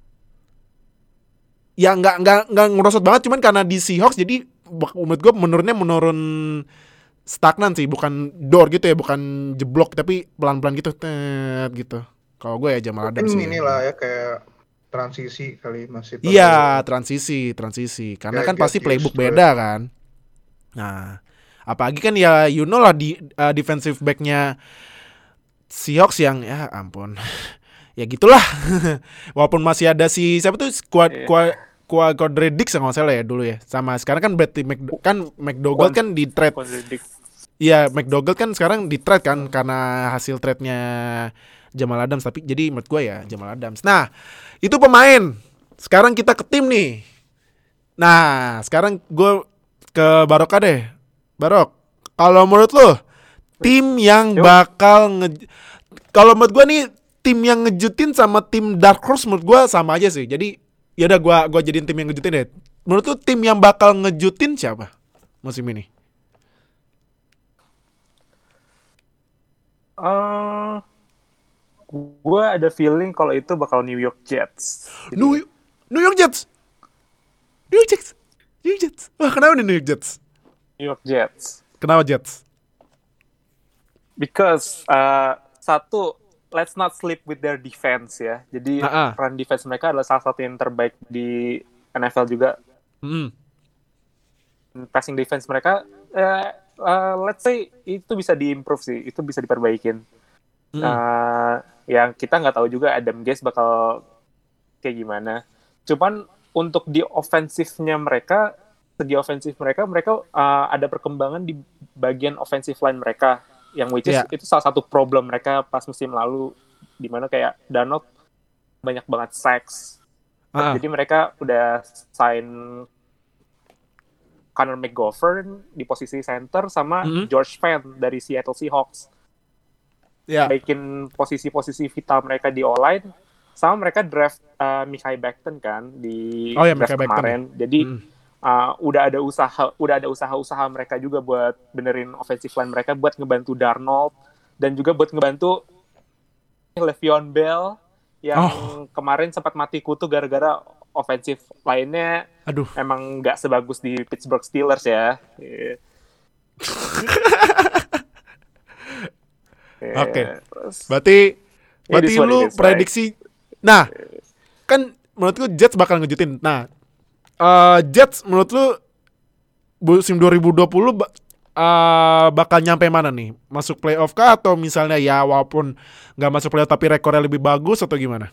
Speaker 2: ya nggak ngerosot banget, cuman karena di Seahawks jadi menurut gue menurun stagnan sih, bukan door gitu ya, bukan jeblok tapi pelan-pelan gitu gitu. Kalau gue ya Jamal Adams sih.
Speaker 4: Inilah ya kayak transisi kali masih.
Speaker 2: Iya, transisi. Karena kan pasti playbook beda kan. Nah, apalagi kan ya you know lah di defensive back-nya Seahawks yang ya ampun. Ya gitulah. Walaupun masih ada si siapa tuh Quadre Dix kalau nggak salah ya dulu ya. Sama sekarang kan berarti McDougald kan di trade. Iya, McDougald kan sekarang di trade kan karena hasil trade-nya Jamal Adams, tapi jadi menurut gue ya Jamal Adams. Nah, itu pemain. Sekarang kita ke tim nih. Nah, sekarang gue ke Barok deh. Barok, Kalau menurut lo tim yang bakal kalau menurut gue nih tim yang ngejutin sama tim Dark Horse menurut gue sama aja sih. Jadi ya udah gue jadiin tim yang ngejutin deh. Menurut lo tim yang bakal ngejutin siapa musim ini?
Speaker 5: Gue ada feeling kalau itu bakal New York Jets.
Speaker 2: New York Jets. Wah, kenapa nih New York Jets?
Speaker 5: New York Jets.
Speaker 2: Kenapa Jets?
Speaker 5: Because satu, let's not sleep with their defense ya. Jadi run defense mereka adalah salah satu yang terbaik di NFL juga. Passing defense mereka, let's say itu bisa diimprove sih, itu bisa diperbaikin. Yang kita nggak tahu juga Adam Gase bakal kayak gimana. Cuman untuk di ofensifnya mereka, segi ofensif mereka ada perkembangan di bagian offensive line mereka, yang which is itu salah satu problem mereka pas musim lalu, di mana kayak Darnold banyak banget sacks. Jadi mereka udah sign Connor McGovern di posisi center sama George Fant dari Seattle Seahawks. Baikin posisi-posisi vital mereka di O-line, sama mereka draft Mekhi Becton kan di draft kemarin. Jadi udah ada usaha mereka juga buat benerin offensive line mereka, buat ngebantu Darnold dan juga buat ngebantu Le'Veon Bell yang kemarin sempat mati kutu gara-gara offensive line-nya emang nggak sebagus di Pittsburgh Steelers ya.
Speaker 2: Oke. Berarti lu prediksi. Nah, kan menurut lu Jets bakal ngejutin. Nah, Jets menurut lu musim 2020 bakal nyampe mana nih? Masuk playoff kah atau misalnya ya walaupun nggak masuk playoff tapi rekornya lebih bagus atau gimana?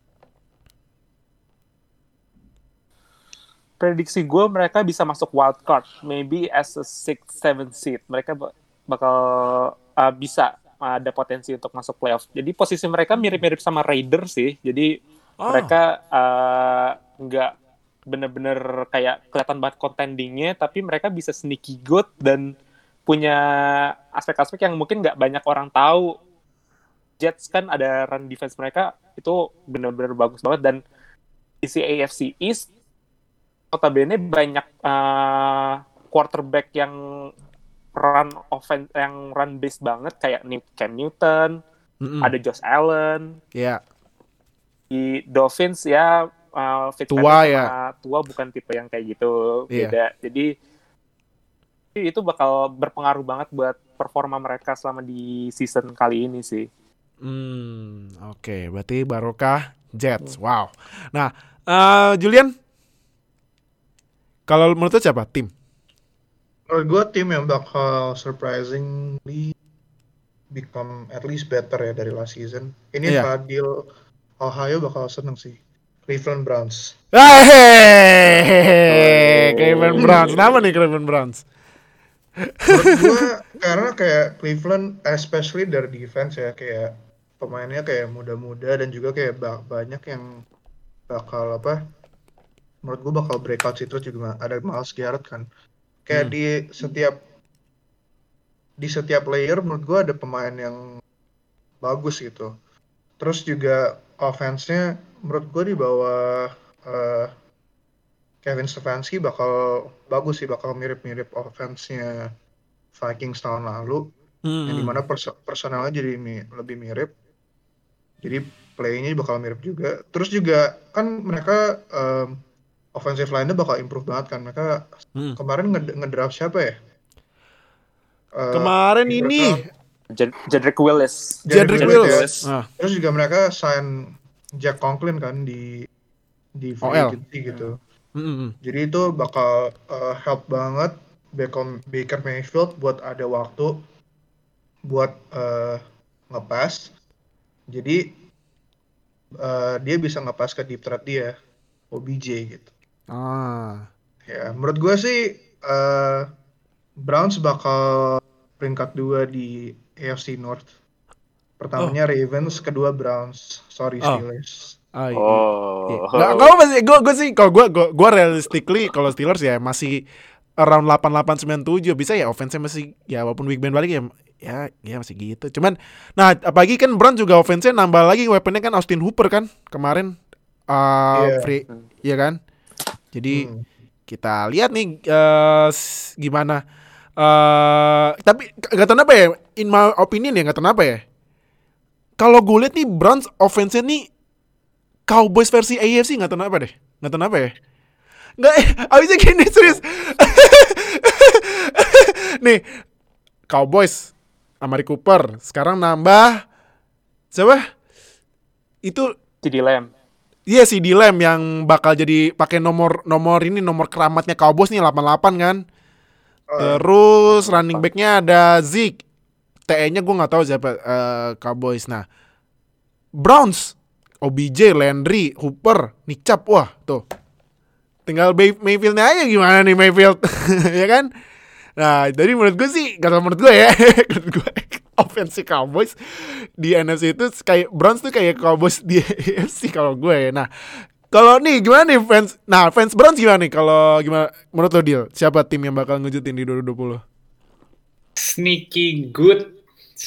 Speaker 5: Prediksi gue mereka bisa masuk wild card, maybe as a 6-7 seed. Mereka bakal bisa ada potensi untuk masuk playoff. Jadi posisi mereka mirip-mirip sama Raiders sih. Jadi mereka nggak bener-bener kayak kelihatan banget contendingnya, tapi mereka bisa sneaky good dan punya aspek-aspek yang mungkin nggak banyak orang tahu. Jets kan ada run defense mereka itu bener-bener bagus banget, dan di AFC East notabene banyak quarterback yang run offense, yang run based banget kayak Cam Newton, ada Josh Allen. Di Dolphins ya Tua bukan tipe yang kayak gitu, beda. Jadi itu bakal berpengaruh banget buat performa mereka selama di season kali ini sih.
Speaker 2: Oke, berarti barokah Jets. Wow. Nah, Julian, kalau menurut lu siapa tim?
Speaker 4: Menurut gue tim yang bakal surprisingly become at least better ya dari last season. Ini Fadil Ohio bakal seneng sih. Cleveland Browns.
Speaker 2: Cleveland Browns. Kenapa nih Cleveland Browns?
Speaker 4: Menurut gue karena kayak Cleveland, especially dari defense ya, kayak pemainnya kayak muda-muda dan juga kayak banyak yang bakal menurut gue bakal breakout sih. Terus juga ada Myles Garrett kan. Kayak di setiap player menurut gue ada pemain yang bagus gitu. Terus juga offense-nya menurut gue di bawah Kevin Stefanski bakal bagus sih, bakal mirip-mirip offense-nya Vikings tahun lalu, yang dimana personalnya jadi lebih mirip, jadi play-nya bakal mirip juga. Terus juga kan mereka offensive line-nya bakal improve banget kan. Mereka kemarin ngedraft siapa ya?
Speaker 2: Kemarin ini
Speaker 5: Jedrick Willis.
Speaker 4: Terus juga mereka sign Jack Conklin kan di free agency gitu. Jadi itu bakal help banget Baker Mayfield buat ada waktu buat ngepas. Jadi dia bisa ngepas ke deep threat dia, OBJ gitu. Ya, menurut gue sih Browns bakal peringkat 2 di AFC North. Pertamanya Ravens, kedua Browns. Steelers.
Speaker 2: Gue sih kalau gue realistically kalau Steelers ya masih around 88-97 bisa ya, offense-nya masih ya walaupun Big Ben balik ya masih gitu. Cuman nah apalagi kan Browns juga offense-nya nambah lagi weapon-nya kan Austin Hooper kan kemarin free ya kan. Jadi kita lihat nih gimana. Tapi gak tahu kenapa ya, in my opinion ya, gak tahu kenapa ya. Kalau gue lihat nih Browns offense-nya nih Cowboys versi AFC, gak tahu kenapa deh. Gak tahu kenapa ya. Nggak, abisnya gini serius. Nih Cowboys Amari Cooper, sekarang nambah siapa? Itu
Speaker 5: CeeDee Lamb.
Speaker 2: Iya CeeDee Lamb yang bakal jadi pakai nomor keramatnya Cowboys nih 88 kan. Terus running back-nya ada Zeke. TE-nya gue nggak tahu siapa Cowboys. Nah, Browns, OBJ, Landry, Hooper, Nick Chubb, wah tuh. Tinggal Mayfield-nya aja gimana nih Mayfield, ya kan? Nah, jadi menurut gue sih, gak tau menurut gue ya, menurut gue offense Cowboys di NFC itu kayak Browns tuh kayak Cowboys di AFC kalau gue ya. Nah, kalau nih gimana nih fans Browns gimana nih? Kalau gimana menurut lo Deal? Siapa tim yang bakal ngejutin di 2020?
Speaker 3: Sneaky good.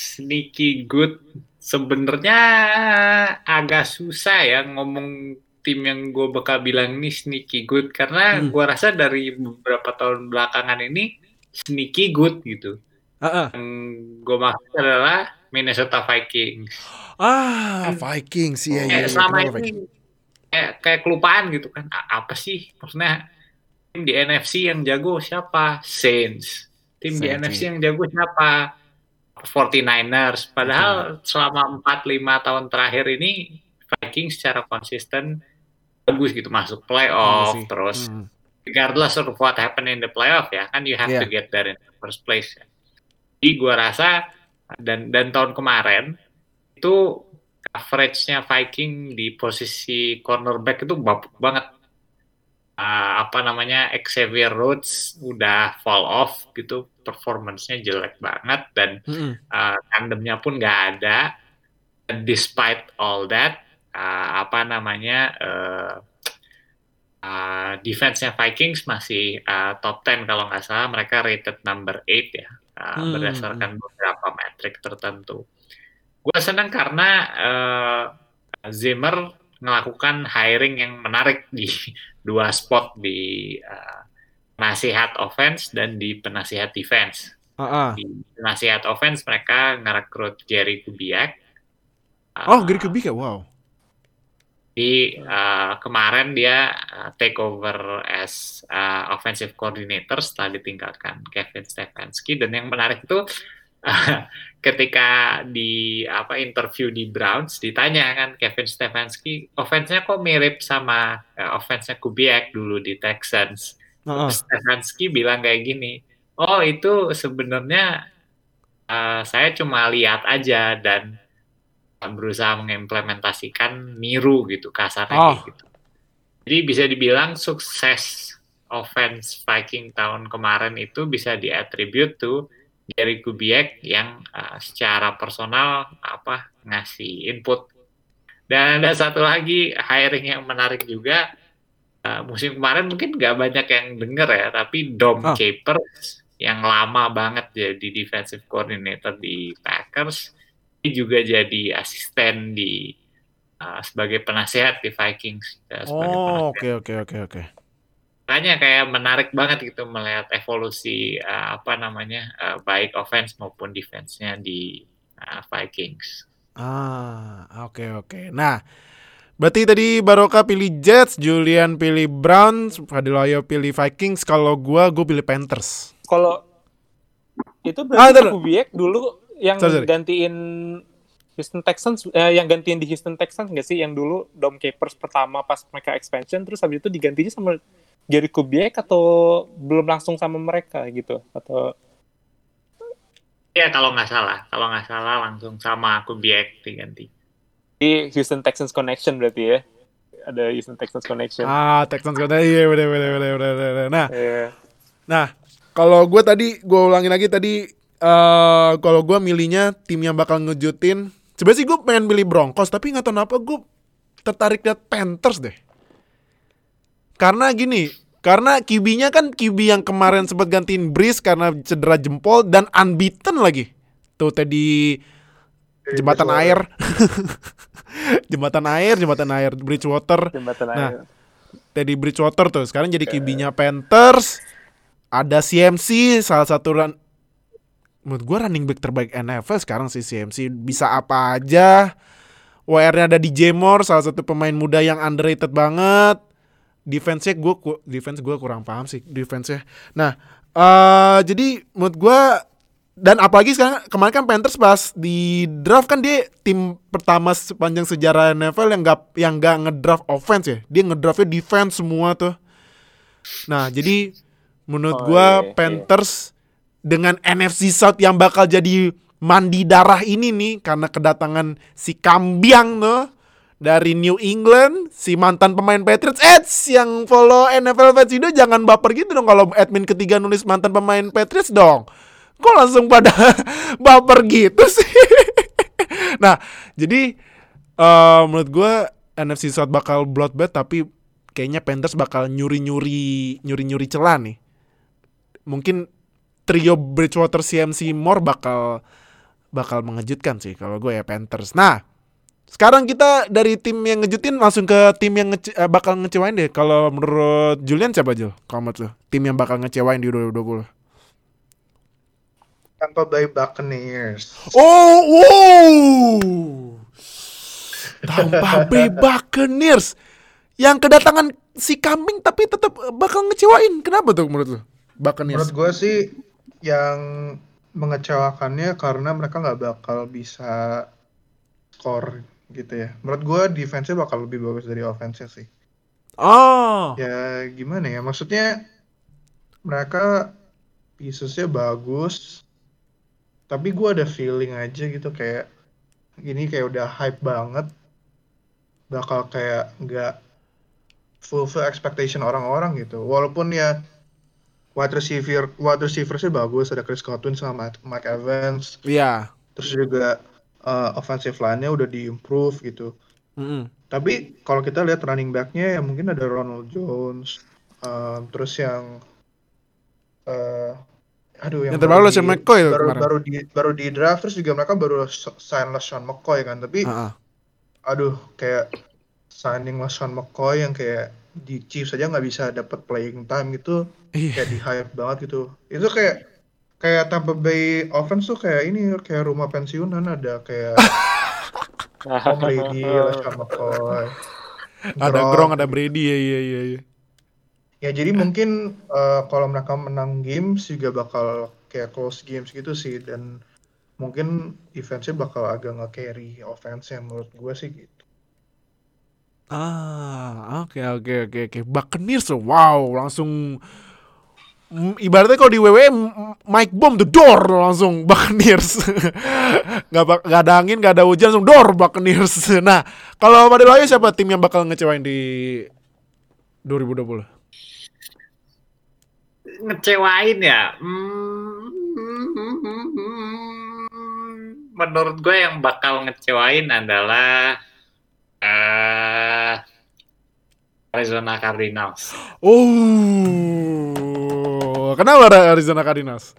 Speaker 3: Sebenarnya agak susah ya ngomong tim yang gue bakal bilang ini sneaky good karena gue rasa dari beberapa tahun belakangan ini sneaky good gitu. Yang gue maksud adalah Minnesota Vikings.
Speaker 2: Vikings ya.
Speaker 3: Selama ini kayak kelupaan gitu kan. Apa sih maksudnya tim di NFC yang jago siapa? Saints. Tim di NFC yang jago siapa? 49ers. Padahal selama 4-5 tahun terakhir ini Vikings secara konsisten bagus gitu, masuk playoff terus regardless of what happen in the playoff ya kan, you have to get there in the first place ya. Jadi gue rasa dan tahun kemarin itu coverage-nya Viking di posisi cornerback itu bapuk banget. Xavier Rhodes udah fall off gitu, performance-nya jelek banget dan tandemnya pun nggak ada. Despite all that, defense-nya Vikings masih top 10 kalau nggak salah, mereka rated number 8 ya, berdasarkan beberapa metrik tertentu. Gue senang karena Zimmer melakukan hiring yang menarik di 2 spot, di penasihat offense dan di penasihat defense. Di penasihat offense mereka ngerekrut Gary Kubiak.
Speaker 2: Gary Kubiak, wow.
Speaker 3: Di kemarin dia take over as offensive coordinator setelah ditinggalkan Kevin Stefanski. Dan yang menarik itu ketika di interview di Browns ditanya kan Kevin Stefanski, offense-nya kok mirip sama offense-nya Kubiak dulu di Texans. Stefanski bilang kayak gini, itu sebenarnya saya cuma lihat aja dan berusaha mengimplementasikan niru gitu, kasarnya gitu. Jadi bisa dibilang sukses offense Viking tahun kemarin itu bisa diattribute to Gary Kubiak yang secara personal ngasih input. Dan ada satu lagi hiring yang menarik juga, musim kemarin mungkin gak banyak yang denger ya, tapi Dom Capers yang lama banget jadi defensive coordinator di Packers, dia juga jadi asisten di sebagai penasihat di Vikings.
Speaker 2: Oke.
Speaker 3: Makanya kayak menarik banget gitu melihat evolusi baik offense maupun defense-nya di Vikings.
Speaker 2: Oke. Nah, berarti tadi Baroka pilih Jets, Julian pilih Browns, Fadilayo pilih Vikings. Kalau gue pilih Panthers.
Speaker 5: Kalau itu berarti Kubiak dulu yang gantiin Houston Texans, yang gantiin di Houston Texans nggak sih, yang dulu Dom Capers pertama pas mereka expansion, terus habis itu digantinya sama Gary Kubiak atau belum langsung sama mereka gitu, atau?
Speaker 3: Ya kalau nggak salah langsung sama Kubiak diganti.
Speaker 5: Di Houston Texans Connection berarti ya, ada Houston Texans Connection.
Speaker 2: Texans Connection, iya bener. Nah, kalau gue ulangin lagi tadi. Kalau gue milihnya tim yang bakal ngejutin, sebenarnya sih gue pengen pilih Broncos, tapi nggak tahu kenapa gue tertarik liat Panthers deh. Karena gini, Karena QB-nya kan QB yang kemarin sempat gantiin Breeze karena cedera jempol dan unbeaten lagi. Tuh tadi jembatan air. jembatan air Bridgewater. Nah, Teddy Bridgewater tuh sekarang jadi QB-nya Panthers. Ada CMC, salah satu menurut gue running back terbaik NFL sekarang sih CMC. Bisa apa aja. WR-nya ada DJ Moore, salah satu pemain muda yang underrated banget. Defense-nya gue kurang paham sih defense-nya. Nah, jadi menurut gue, dan apalagi sekarang kemarin kan Panthers pas di draft kan dia tim pertama sepanjang sejarah NFL yang nggak ngedraft offense ya. Dia ngedraftnya defense semua tuh. Nah, jadi menurut gue Panthers dengan NFC South yang bakal jadi mandi darah ini nih karena kedatangan si Kambiang tuh dari New England, si mantan pemain Patriots. Yang follow NFL Fans Indo jangan baper gitu dong kalau admin ketiga nulis mantan pemain Patriots dong. Kok langsung pada baper gitu sih? Nah, jadi menurut gue NFC South bakal bloodbath, tapi kayaknya Panthers bakal nyuri celah nih. Mungkin trio Bridgewater, CMC, Moore bakal mengejutkan sih kalau gue ya Panthers. Nah, sekarang kita dari tim yang ngejutin langsung ke tim yang bakal ngecewain deh. Kalau menurut Julian siapa Jul? Kalau tuh tim yang bakal ngecewain di 2020.
Speaker 4: Tampa Bay Buccaneers.
Speaker 2: Tampa Bay Buccaneers yang kedatangan si kambing tapi tetap bakal ngecewain. Kenapa tuh menurut lu? Buccaneers.
Speaker 4: Menurut gue sih yang mengecewakannya karena mereka nggak bakal bisa skor gitu ya. Menurut gue defense-nya bakal lebih bagus dari offense-nya sih. Ya gimana ya, maksudnya mereka pieces-nya bagus, tapi gue ada feeling aja gitu kayak ini kayak udah hype banget, bakal kayak nggak fulfill expectation orang-orang gitu. Walaupun ya wide receiver-nya bagus, ada Chris Godwin sama Mike Evans.
Speaker 2: Iya.
Speaker 4: Terus juga offensive line-nya udah di-improve gitu. Tapi kalau kita lihat running back-nya ya mungkin ada Ronald Jones, terus yang yang
Speaker 2: terbaru LeSean McCoy
Speaker 4: baru di draft, terus juga mereka baru sign LeSean McCoy kan, tapi kayak signing LeSean McCoy yang kayak di Chiefs aja nggak bisa dapat playing time gitu, kayak di hype banget gitu. Itu kayak Tampa Bay offense tuh kayak ini, kayak rumah pensiunan, ada kayak Tom Brady, LeSean McCoy,
Speaker 2: ada Gronk, ada Brady, iya.
Speaker 4: Ya jadi mungkin kalau mereka menang games juga bakal kayak close games gitu sih, dan mungkin defense-nya bakal agak nge-carry offense-nya menurut gue sih gitu.
Speaker 2: Oke. Buccaneers, wow, langsung ibaratnya kalau di WWE Mike Bomb the door langsung Buccaneers. Gak ada angin, gak ada hujan, langsung door Buccaneers. Nah, kalau pada lo siapa tim yang bakal ngecewain di 2020?
Speaker 3: Ngecewain ya? Menurut gue yang bakal ngecewain adalah Arizona Cardinals.
Speaker 2: Kenapa Arizona Cardinals?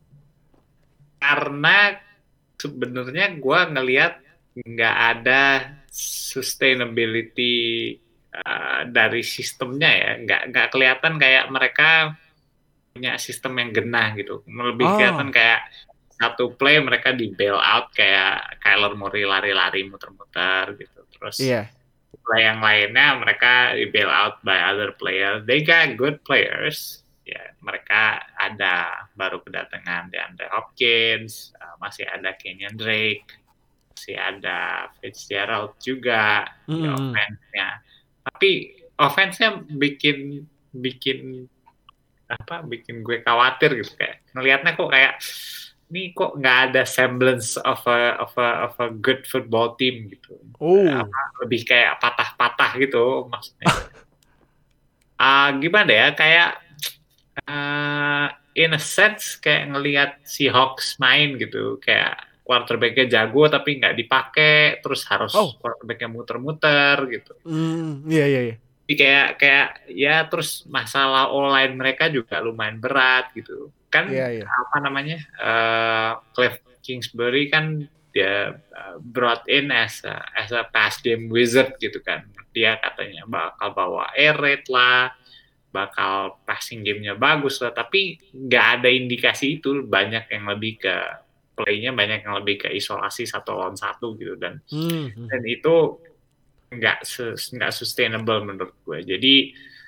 Speaker 3: Karena sebenarnya gue ngelihat nggak ada sustainability dari sistemnya ya, nggak kelihatan kayak mereka punya sistem yang genah gitu. Lebih kelihatan kayak satu play mereka di bail out, kayak Kyler Murray lari-lari muter-muter gitu. Terus play yang lainnya mereka di bail out by other players. They got good players. Ya, mereka ada baru kedatangan DeAndre Hopkins, masih ada Kenyan Drake, masih ada Fitzgerald juga di offense-nya. Tapi offense-nya bikin gue khawatir gitu, kayak ngelihatnya kok kayak ini kok nggak ada semblance of a good football team gitu. Lebih kayak patah-patah gitu maksudnya. Gimana ya, kayak in a sense kayak ngelihat Seahawks main gitu, kayak quarterback-nya jago tapi nggak dipakai, terus harus quarterback-nya muter-muter gitu.
Speaker 2: Iya.
Speaker 3: kayak ya terus masalah online mereka juga lumayan berat gitu kan. Apa namanya Cliff Kingsbury kan dia brought in as a pass game wizard gitu kan. Dia katanya bakal bawa air raid lah, bakal passing gamenya bagus lah, tapi nggak ada indikasi itu. Banyak yang lebih ke playnya, banyak yang lebih ke isolasi 1-on-1 gitu, dan itu nggak sustainable menurut gue. Jadi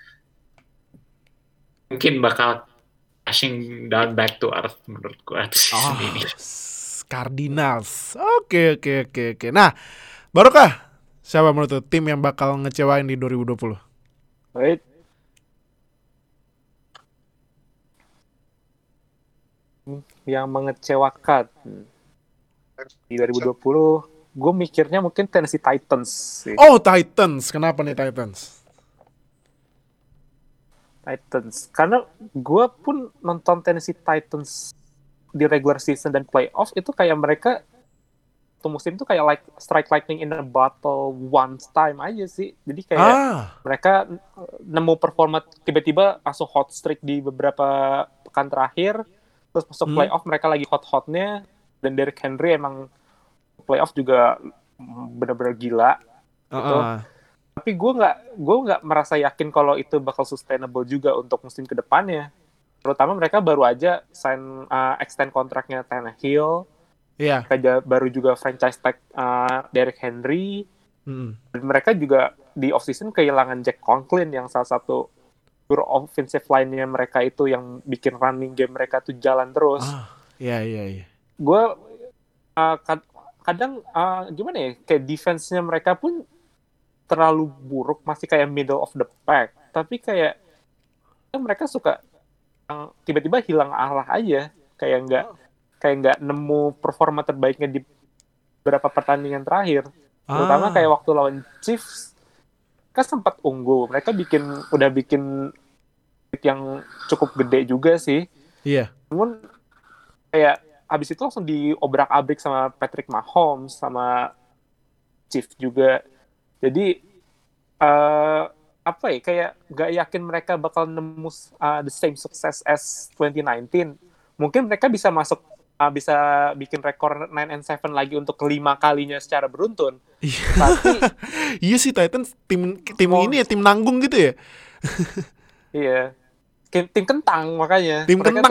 Speaker 3: mungkin bakal crashing down back to earth menurut gue.
Speaker 2: Cardinals. Oke. Nah, Barokah, siapa menurut tim yang bakal ngecewain di 2020?
Speaker 5: Wait. Yang mengecewakan di 2020, gue mikirnya mungkin Tennessee Titans sih.
Speaker 2: Oh, Titans. Kenapa nih Titans?
Speaker 5: Karena gue pun nonton Tennessee Titans di regular season dan playoff, itu kayak mereka satu musim tuh kayak like strike lightning in a bottle one time aja sih. Jadi kayak mereka nemu performa, tiba-tiba langsung hot streak di beberapa pekan terakhir, terus masuk playoff mereka lagi hot-hotnya, dan Derrick Henry emang playoff juga benar-benar gila gitu. Tapi gue nggak merasa yakin kalau itu bakal sustainable juga untuk musim kedepannya. Terutama mereka baru aja extend kontraknya Tannehill. Mereka baru juga franchise tag Derrick Henry. Dan mereka juga di offseason kehilangan Jack Conklin yang salah satu pure offensive line-nya mereka itu yang bikin running game mereka tuh jalan terus. Gue kadang gimana ya, kayak defense-nya mereka pun terlalu buruk, masih kayak middle of the pack. Tapi kayak mereka suka tiba-tiba hilang arah aja, kayak nggak nemu performa terbaiknya di beberapa pertandingan terakhir. Terutama kayak waktu lawan Chiefs kan sempat unggul, mereka udah bikin yang cukup gede juga sih. Namun kayak abis itu langsung diobrak-abrik sama Patrick Mahomes sama Chiefs juga. Jadi kayak nggak yakin mereka bakal nemu the same success as 2019. Mungkin mereka bisa masuk, bisa bikin rekor 9-7 lagi untuk kelima kalinya secara beruntun. Tapi
Speaker 2: iya sih, Titans tim ini ya, tim nanggung gitu ya.
Speaker 5: Iya, tim kentang makanya.
Speaker 2: Tim kentang.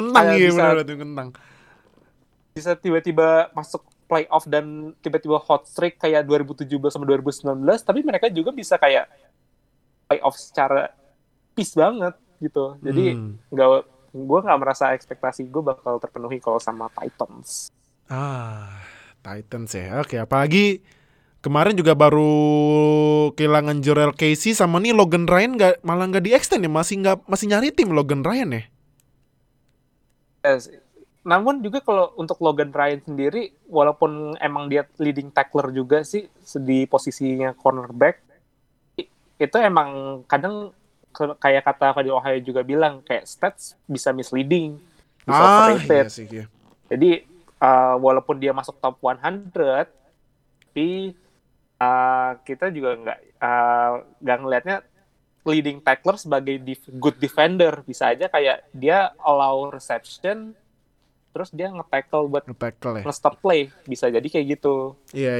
Speaker 5: Bisa tiba-tiba masuk playoff dan tiba-tiba hot streak kayak 2017 sama 2019, tapi mereka juga bisa kayak playoff secara peace banget gitu. Jadi gue nggak merasa ekspektasi gue bakal terpenuhi kalau sama Titans.
Speaker 2: Titans ya. Oke, apalagi kemarin juga baru kehilangan Jurrell Casey sama nih Logan Ryan, malah nggak di-extend ya, masih nyari tim Logan Ryan ya.
Speaker 5: Yes. Namun juga kalau untuk Logan Ryan sendiri, walaupun emang dia leading tackler juga sih di posisinya cornerback, itu emang kadang kayak kata Fadil Ohio juga bilang, kayak stats bisa misleading, bisa overrated.
Speaker 2: Iya.
Speaker 5: Jadi walaupun dia masuk top 100, tapi kita juga nggak ngelihatnya leading tackler sebagai good defender. Bisa aja kayak dia allow reception, terus dia nge-tackle buat nge-stop play. Bisa jadi kayak gitu.
Speaker 2: Iya.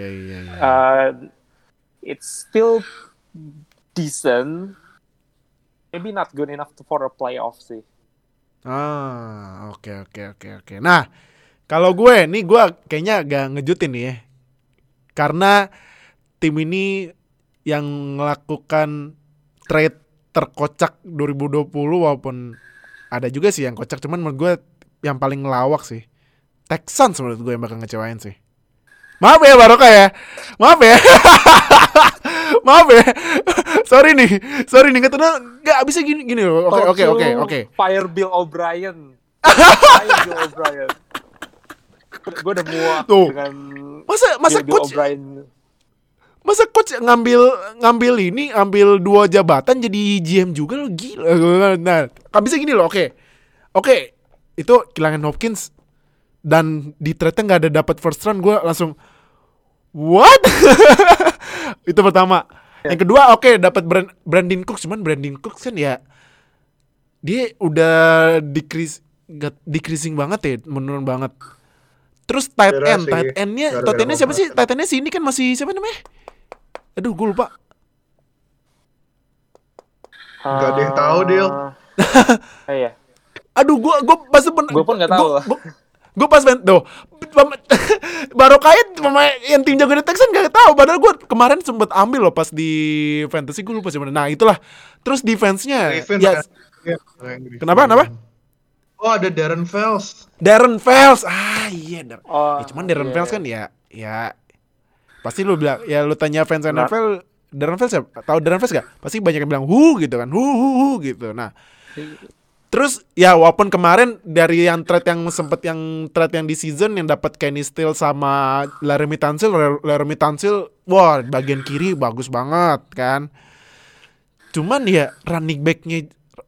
Speaker 5: It's still decent, maybe not good enough for a playoff sih.
Speaker 2: Oke. Nah, kalau gue kayaknya agak ngejutin nih ya. Karena tim ini yang melakukan trade terkocak 2020, walaupun ada juga sih yang kocak, cuman menurut gue yang paling ngelawak sih Texans menurut gue yang bakal ngecewain sih. Maaf ya Barokah ya. Maaf ya. Sorry nih nggak bisa gini loh. Oke.
Speaker 5: Fire Bill O'Brien. Gue udah muak dengan
Speaker 2: masa
Speaker 5: Bill
Speaker 2: coach
Speaker 5: O'Brien.
Speaker 2: Masa coach ngambil 2 jabatan jadi GM juga lo, gila. Nah, nggak bisa gini loh. Oke. Itu kehilangan Hopkins dan di trade-nya nggak ada dapat first round, gue langsung what? Itu pertama. Yang kedua dapat Brandin Cooks, cuman Brandin Cooks kan ya dia udah decreasing banget ya, menurun banget. Terus tight endnya siapa sih? Tight endnya si ini kan masih siapa namanya? Aduh, gue lupa.
Speaker 4: Gak ada yang tahu, Dil.
Speaker 5: Iya.
Speaker 2: Aduh, gue
Speaker 5: Gue pun nggak tahu.
Speaker 2: Gue pas main tuh baru kait pemain yang tim jago di Texans gak tahu. Padahal gue kemarin sempet ambil loh pas di fantasy, gue lupa siapa. Nah itulah. Terus defense-nya ya. Kenapa?
Speaker 4: Oh, ada Darren Fells.
Speaker 2: Iya. Ya, cuman Darren
Speaker 5: iya.
Speaker 2: Fells kan ya pasti lu bilang ya, lu tanya fans NFL Darren Fells ya, tahu Darren Fells gak? Pasti banyak yang bilang gitu kan. Gitu. Nah, terus ya walaupun kemarin dari yang trade yang di season yang dapat Kenny Stills sama Laramie Tunsil, wah bagian kiri bagus banget kan. Cuman ya running backnya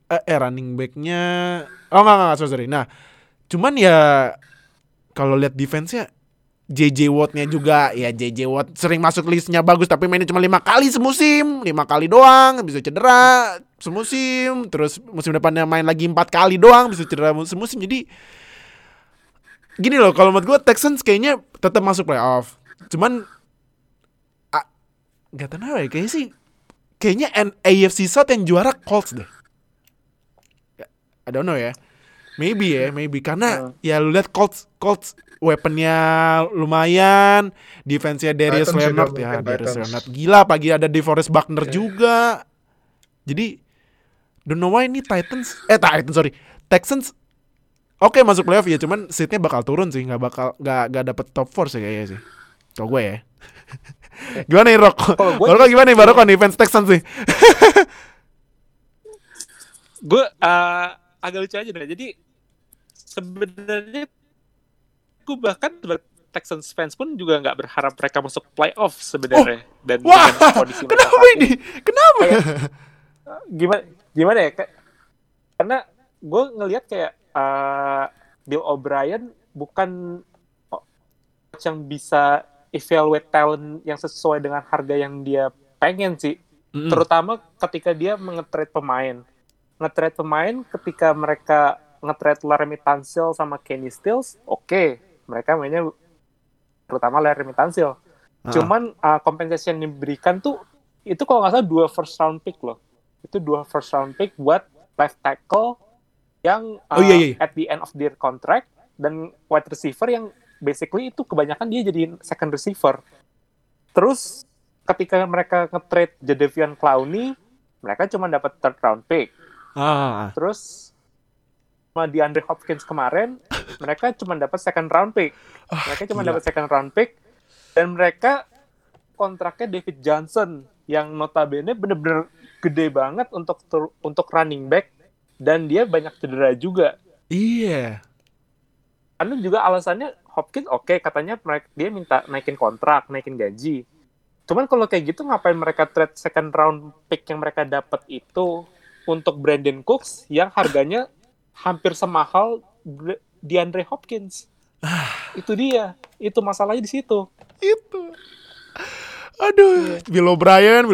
Speaker 2: enggak, sorry. Nah, cuman ya kalau lihat defense-nya JJ Watt-nya juga, ya JJ Watt sering masuk listnya bagus tapi mainnya cuma 5 kali semusim, 5 kali doang, bisa cedera semusim, terus musim depannya main lagi 4 kali doang, bisa cedera semusim. Jadi gini loh, kalau menurut gue Texans kayaknya tetap masuk playoff. Cuman gak tahu ya, kayaknya AFC South yang juara Colts deh. I don't know ya. Maybe karena ya lu lihat Colts weaponnya lumayan, defense-nya Darius Leonard gila, pagi ada DeForest Buckner juga. Jadi don't know why ini Texans masuk playoff ya, cuman seatnya bakal turun sih, nggak dapet top 4 sih kayaknya sih. Kalau gue ya. Gimana nih Rock? Baru gimana nih defense Texans sih?
Speaker 5: Gue agak lucu aja deh. Jadi sebenarnya gue bahkan Texans fans pun juga nggak berharap mereka masuk playoff sebenarnya. Dan dengan kondisi
Speaker 2: kenapa ini? Kenapa?
Speaker 5: Gimana ya? Karena gue ngelihat kayak Bill O'Brien bukan coach yang bisa evaluate talent yang sesuai dengan harga yang dia pengen sih. Terutama ketika dia nge-trade pemain ketika mereka nge-trade Laramie Tunsil sama Kenny Stills, mereka mainnya terutama Laramie Tunsil. Cuman compensation yang diberikan tuh itu kalau nggak salah 2 first round pick loh. Itu 2 first round pick buat left tackle yang at the end of their contract, dan wide receiver yang basically itu kebanyakan dia jadi second receiver. Terus ketika mereka nge-trade Jadeveon Clowney, mereka cuma dapat third round pick. Terus sama DeAndre Hopkins kemarin, mereka cuma dapat second round pick. Dan mereka kontraknya David Johnson yang notabene bener-bener gede banget untuk running back, dan dia banyak cedera juga.
Speaker 2: Iya.
Speaker 5: Karena juga alasannya Hopkins katanya dia minta naikin kontrak, naikin gaji. Cuman kalau kayak gitu ngapain mereka trade second round pick yang mereka dapat itu untuk Brandin Cooks yang harganya hampir semahal DeAndre Hopkins. Itu dia. Itu masalahnya di situ.
Speaker 2: Itu. Aduh, Bill O'Brien.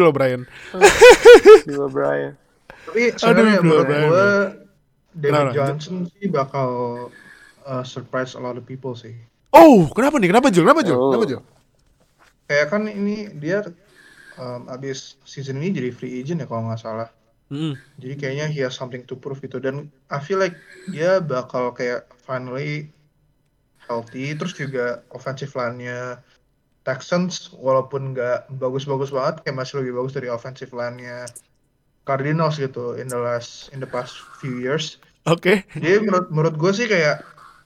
Speaker 4: Tapi sebenarnya menurut gue David Johnson sih bakal surprise a lot of people sih.
Speaker 2: Oh, kenapa nih? Kenapa Jul?
Speaker 4: Kayak kan ini dia abis season ini jadi free agent ya kalau nggak salah. Jadi kayaknya he has something to prove gitu, dan I feel like dia bakal kayak finally healthy. Terus juga offensive line-nya Texans walaupun nggak bagus-bagus banget, kayak masih lebih bagus dari offensive line-nya Cardinals gitu in the past few years. Jadi menurut gue sih kayak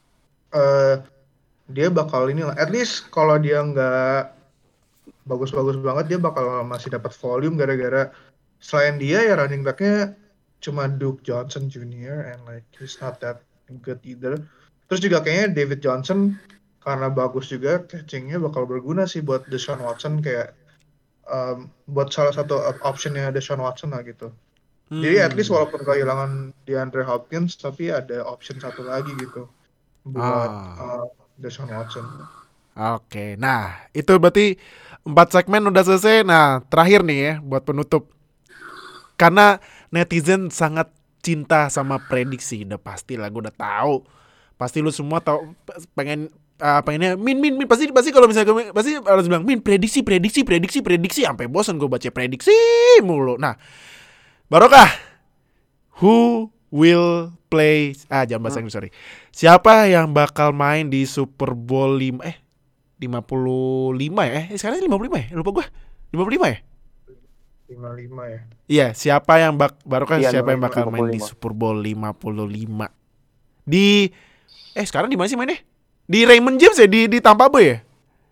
Speaker 4: dia bakal at least kalau dia nggak bagus-bagus banget, dia bakal masih dapat volume gara-gara selain dia ya running back-nya cuma Duke Johnson Jr. and like he's not that good either. Terus juga kayaknya David Johnson karena bagus juga catching-nya bakal berguna sih buat Deshaun Watson, kayak buat salah satu option-nya Deshaun Watson lah gitu. Jadi at least walaupun kehilangan DeAndre Hopkins, tapi ada option satu lagi gitu buat Deshaun Watson.
Speaker 2: Oke, nah itu berarti 4 segmen udah selesai. Nah terakhir nih ya buat penutup. Karena netizen sangat cinta sama prediksi, udah pasti lah, gue udah tahu. Pasti lu semua tahu pengennya min pasti kalau misalnya pasti harus bilang min prediksi sampai bosan gue baca prediksi mulu. Nah, Barokah, who will play jangan bahasa Inggris, sorry. Siapa yang bakal main di Super Bowl 55 ya? Sekarang 55 ya? Lupa gue. 55 ya?
Speaker 4: 55 ya.
Speaker 2: Iya, siapa yang Barokah
Speaker 5: Iya,
Speaker 2: siapa yang bakal
Speaker 5: 55.
Speaker 2: main di Super Bowl 55? Di sekarang di mana sih mainnya? Di Raymond James ya, di Tampa Bay ya?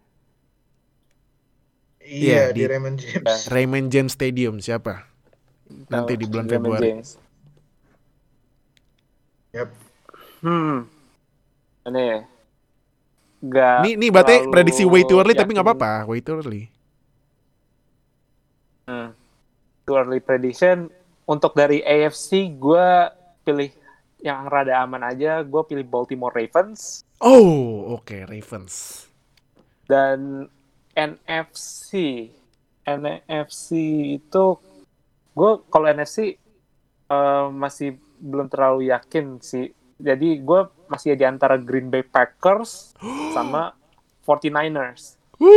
Speaker 2: Iya,
Speaker 4: Iya, di Raymond James.
Speaker 2: Raymond James Stadium. Siapa? Nanti di bulan
Speaker 5: Raymond
Speaker 2: Februari.
Speaker 5: James.
Speaker 4: Yap.
Speaker 5: Ini nggak
Speaker 2: Nih berarti
Speaker 5: terlalu
Speaker 2: prediksi way too early tapi
Speaker 5: yakin.
Speaker 2: nggak apa-apa, way too early.
Speaker 5: Too early prediction. Untuk dari AFC gue pilih yang rada aman aja. Gue pilih Baltimore Ravens.
Speaker 2: Oh, oke, Ravens.
Speaker 5: Dan NFC itu gue kalau NFC masih belum terlalu yakin sih. Jadi gue masih di antara Green Bay Packers sama 49ers.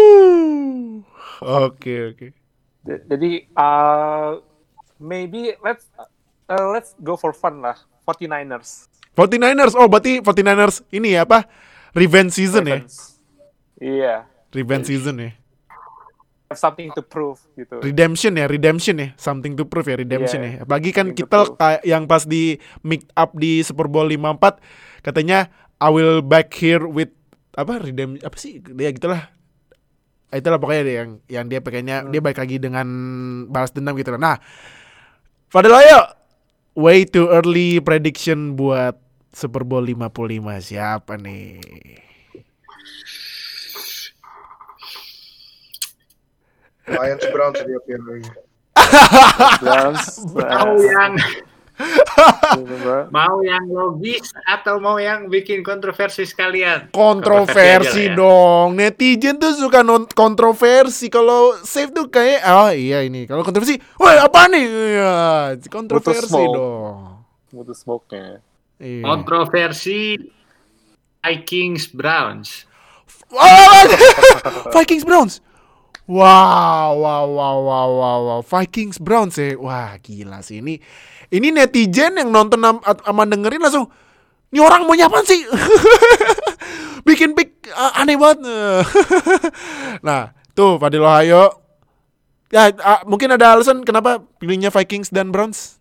Speaker 2: Oke.
Speaker 5: Jadi maybe let's go for fun lah. 49ers.
Speaker 2: 49ers. Oh, berarti 49ers ini ya apa? Revenge season ya?
Speaker 5: Ravens. Iya.
Speaker 2: Revenge season ya?
Speaker 5: Have something to prove gitu.
Speaker 2: Redemption ya, something to prove ya, redemption
Speaker 5: Yeah,
Speaker 2: ya. Apalagi kan
Speaker 5: something to
Speaker 2: kita
Speaker 5: prove.
Speaker 2: kayak yang pas di make up di Super Bowl 54 katanya I will back here with apa sih dia gitulah. Itulah pokoknya dia yang dia pengennya dia balik lagi dengan balas dendam gitu lah. Nah, Fadil, ayo way too early prediction buat Super Bowl 55 siapa nih?
Speaker 4: Lions Browns dia pilih.
Speaker 3: Mau yang logis atau mau yang bikin kontroversi sekalian?
Speaker 2: Kontroversi
Speaker 3: aja lah ya.
Speaker 2: dong. Netizen tuh suka kontroversi. Kalau safe tuh kayak iya ini. Kalau kontroversi, woi apa nih? Iya, kontroversi
Speaker 5: smoke.
Speaker 2: dong.
Speaker 5: Butuh smoke-nya.
Speaker 2: Iya.
Speaker 3: Kontroversi Vikings Browns.
Speaker 2: Vikings Browns. Wow. Vikings Browns ya. Wah, gila sih ini. Ini netizen yang nonton sama dengerin langsung, ini orang mau nyapaan sih? Bikin pick aneh banget. Nah, tuh Fadil Ohio. Ya, mungkin ada alasan kenapa pilihnya Vikings dan Browns?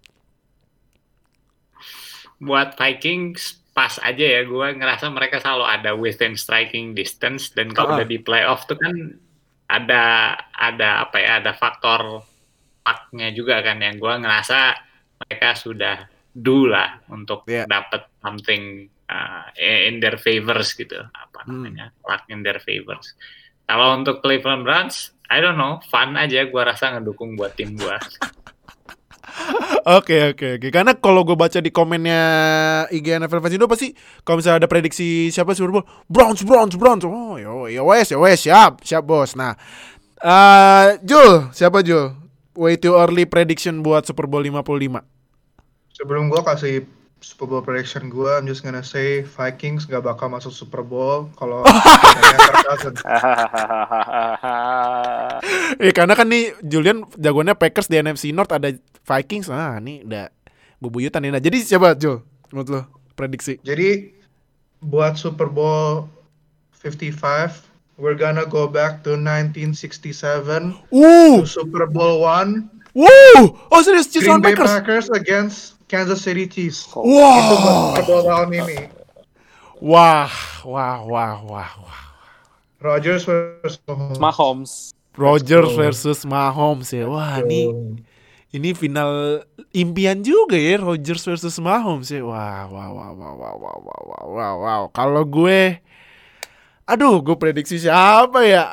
Speaker 3: Buat Vikings pas aja ya, gue ngerasa mereka selalu ada within striking distance, dan kalau udah di playoff tuh kan ada apa ya, ada faktor lucknya juga kan, yang gue ngerasa mereka sudah do lah untuk dapat something in their favors gitu, apa namanya, luck in their favors. Kalau untuk Cleveland Browns, I don't know, fun aja, gue rasa ngedukung buat tim gue.
Speaker 2: Oke. Karena kalau gue baca di komennya IG NFL Fans Indo pasti kalau misalnya ada prediksi siapa Super Bowl, Browns. Oh, ya wes, siap bos. Nah, Jul, siapa Jul? Way too early prediction buat Super Bowl 55.
Speaker 4: Sebelum gue kasih Super Bowl prediction gue, I'm just gonna say Vikings gak bakal masuk Super Bowl kalau
Speaker 2: karena kan nih Julian jagoannya Packers di NFC North, ada Vikings. Nih udah bubuyutan ini. Nah, jadi siapa Jul menurut lo prediksi?
Speaker 4: Jadi buat Super Bowl 55 we're gonna go back to 1967 to Super Bowl 1.
Speaker 2: Oh serius, Chiefs
Speaker 4: Green
Speaker 2: lawan
Speaker 4: Bay
Speaker 2: Packers.
Speaker 4: Packers against Kansas City Chiefs.
Speaker 2: Wow.
Speaker 4: Itu buat Super Bowl tahun ini.
Speaker 2: Wah.
Speaker 4: Rodgers versus
Speaker 5: Mahomes.
Speaker 2: Rodgers versus Mahomes ya. Wah, ini final impian juga ya, Rodgers versus Mahomes ya. Wow. Kalau gue prediksi siapa ya?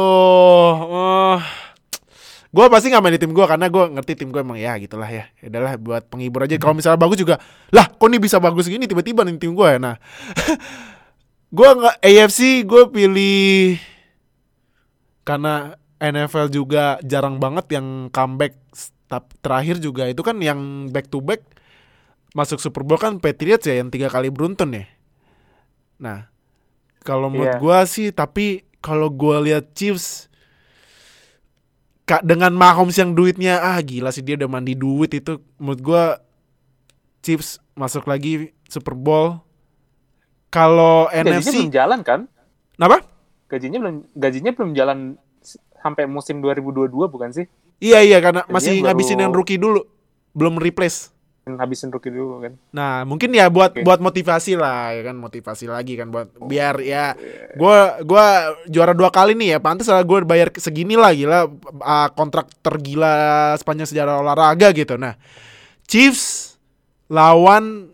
Speaker 2: Gue pasti nggak main di tim gue karena gue ngerti tim gue emang ya gitulah ya. Adalah buat penghibur aja. Kalau misalnya bagus juga, lah kok nih bisa bagus gini tiba-tiba nih tim gue ya. Nah, Gue nggak AFC, gue pilih karena NFL juga jarang banget yang comeback. Terakhir juga itu kan yang back to back masuk Super Bowl kan Patriots ya yang 3 kali beruntun ya. Nah, kalau menurut gue sih, tapi kalau gue lihat Chiefs dengan Mahomes yang duitnya gila sih, dia udah mandi duit itu. Menurut gue Chiefs masuk lagi Super Bowl. Kalau NFC
Speaker 5: belum jalan kan?
Speaker 2: Kenapa?
Speaker 5: Gajinya belum jalan sampai musim 2022 bukan sih?
Speaker 2: Iya karena masih ngabisin yang rookie dulu, belum replace.
Speaker 5: Habisin rookie dulu kan.
Speaker 2: Nah, mungkin ya buat motivasi lah ya kan, motivasi lagi kan buat biar ya gua juara 2 kali nih ya, pantas lah gue bayar segini lah, gila, kontrak tergila sepanjang sejarah olahraga gitu. Nah, Chiefs lawan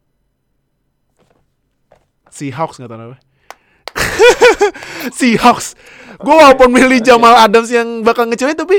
Speaker 2: Seahawks nggak tahu apa. Seahawks. Gue walaupun milih Jamal Adams yang bakal ngecewain tapi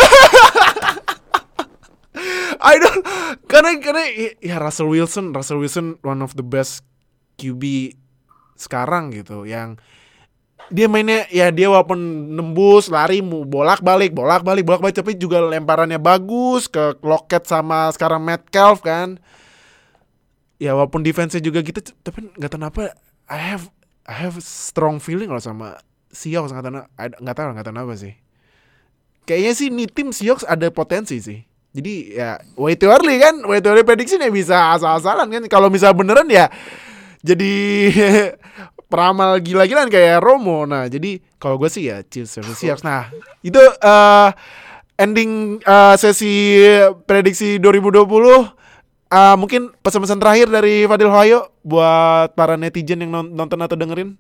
Speaker 2: I don't, karena ya Russell Wilson one of the best QB sekarang gitu, yang dia mainnya ya, dia walaupun nembus lari bolak-balik tapi juga lemparannya bagus ke Lockett sama sekarang Metcalf kan. Ya walaupun defense-nya juga gitu, tapi nggak tahu kenapa I have strong feeling loh sama Seahawks, nggak tahu kenapa sih. Kayaknya sih nih tim Seahawks ada potensi sih. Jadi ya way too early prediction ya, bisa asal-asalan kan. Kalau misalnya beneran ya jadi peramal gila-gilaan kayak Romo. Nah jadi kalau gue sih ya Chiefs versus Seahawks. Nah itu ending sesi prediksi 2020. Mungkin pesan-pesan terakhir dari Fadil Hoyo buat para netizen yang nonton atau dengerin.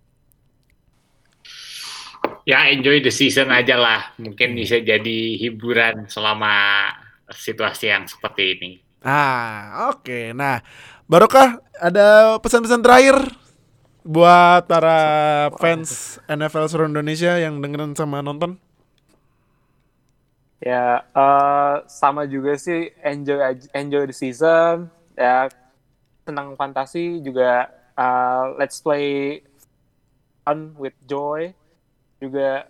Speaker 3: Ya enjoy the season aja lah. Mungkin bisa jadi hiburan selama situasi yang seperti ini.
Speaker 2: Oke. Nah, Barokah, ada pesan-pesan terakhir buat para fans NFL seluruh Indonesia yang dengerin sama nonton?
Speaker 5: Ya, sama juga sih, enjoy the season. Ya, tenang fantasi juga. Let's play fun with joy. Juga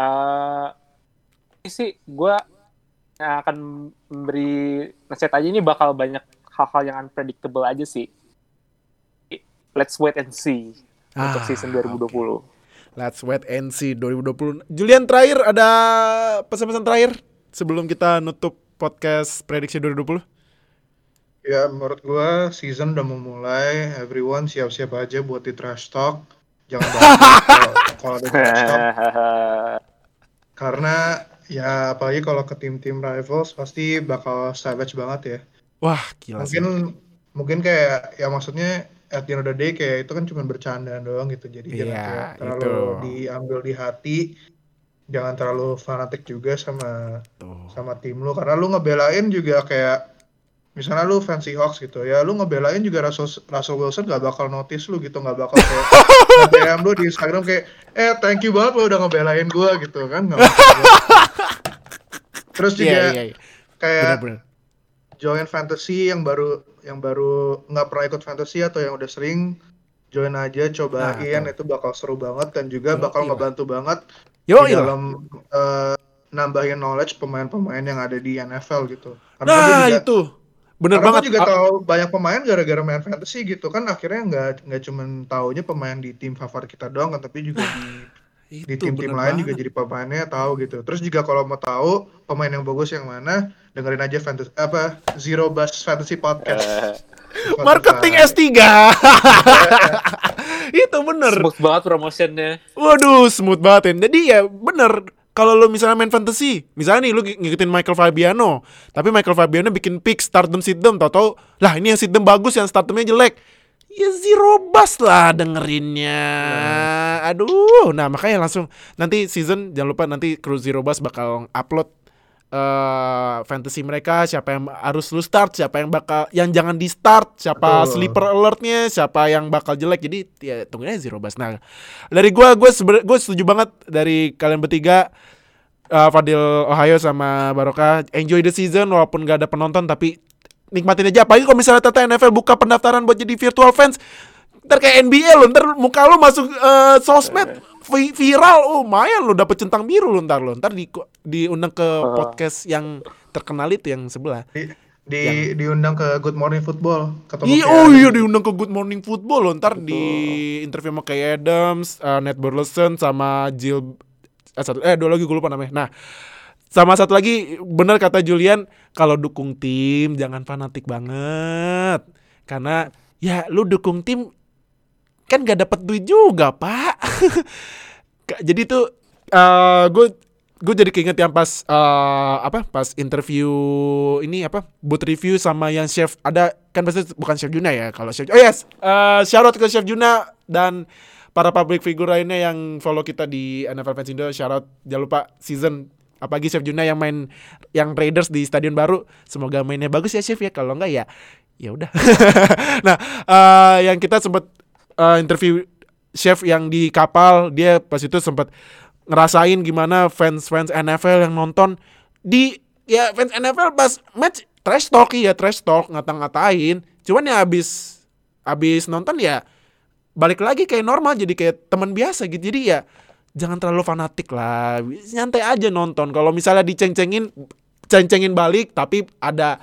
Speaker 5: sih gue akan memberi nasihat aja, ini bakal banyak hal-hal yang unpredictable aja sih. Let's wait and see untuk season 2020.
Speaker 2: Okay. Let's wait and see 2020. Julian, terakhir ada pesan-pesan terakhir sebelum kita nutup podcast prediksi 2020?
Speaker 4: Ya, menurut gue season udah memulai. Everyone siap-siap aja buat di trash talk. Jangan kalau ada trash talk. Karena ya apalagi kalau ke tim-tim rivals pasti bakal savage banget ya.
Speaker 2: Wah, gila sih.
Speaker 4: Mungkin kayak ya maksudnya at the end of the day kayak itu kan cuma bercandaan doang gitu. Jadi jangan terlalu diambil di hati. Jangan terlalu fanatik juga sama tim lu, karena lu ngebelain juga kayak misalnya lu fans Seahawks gitu ya, lu ngebelain juga Russell Wilson gak bakal notice lu gitu, gak bakal kayak DM lu di Instagram kayak thank you banget lu udah ngebelain gua gitu kan, gak bakal. Terus juga kayak bener. Join fantasy yang baru nggak pernah ikut fantasy atau yang udah sering join aja, cobain, itu bakal seru banget dan juga bakal ngebantu banget di dalam nambahin knowledge pemain-pemain yang ada di NFL gitu.
Speaker 2: Karena itu bener banget.
Speaker 4: Aku juga tahu banyak pemain gara-gara main fantasy gitu kan, akhirnya nggak cuma taunya pemain di tim favorit kita doang kan, tapi juga di tim-tim lain juga jadi pemainnya tahu gitu. Terus juga kalau mau tahu pemain yang bagus yang mana, dengerin aja Zero Bus Fantasy Podcast.
Speaker 2: Marketing S3. Itu bener.
Speaker 5: Smooth banget promotionnya.
Speaker 2: Waduh, smooth banget ya. Jadi ya bener. Kalau lo misalnya main fantasy, misalnya nih lo ngikutin Michael Fabiano, tapi Michael Fabiano bikin pick start them sit them, tau-tau lah ini yang sit them bagus, yang start themnya jelek. Ya Zero Bus lah dengerinnya. Aduh, nah makanya langsung nanti season jangan lupa nanti kru Zero Bus bakal upload fantasy mereka, siapa yang harus lu start, siapa yang jangan di start, siapa sleeper alertnya, siapa yang bakal jelek. Jadi ya tungguin aja Zero Bus. Nah, dari gue setuju banget dari kalian bertiga, Fadil Ohio sama Barokah, enjoy the season walaupun gak ada penonton, tapi nikmatin aja. Apalagi kalau misalnya Tata NFL buka pendaftaran buat jadi virtual fans, Ntar kayak NBA lo, ntar muka lo masuk sosmed viral, lumayan lo dapet centang biru lo ntar diundang ke podcast yang terkenal itu yang sebelah.
Speaker 4: Diundang ke Good Morning Football.
Speaker 2: Iya diundang ke Good Morning Football lo, ntar di interview sama Kay Adams, Nate Burleson sama Jill. Dua lagi gue lupa namanya. Nah, sama satu lagi, benar kata Julian, kalau dukung tim jangan fanatik banget, karena ya lu dukung tim kan gak dapet duit juga, Pak. Jadi tuh gue jadi keinget yang pas pas interview ini booth review sama yang chef, ada kan pasti bukan Chef Juna ya, kalau Chef shout out ke Chef Juna dan para public figure lainnya yang follow kita di NFL Fans Indo. Shout out, jangan lupa season apalagi Chef Juna yang main yang Raiders di stadion baru, semoga mainnya bagus ya Chef ya, kalau enggak ya udah. Nah, yang kita sempat interview chef yang di kapal, dia pas itu sempat ngerasain gimana fans NFL yang nonton fans NFL pas match trash talk ngata-ngatain, cuman ya abis nonton ya balik lagi kayak normal, jadi kayak teman biasa gitu. Jadi ya jangan terlalu fanatik lah, nyantai aja nonton. Kalau misalnya ceng-cengin balik tapi ada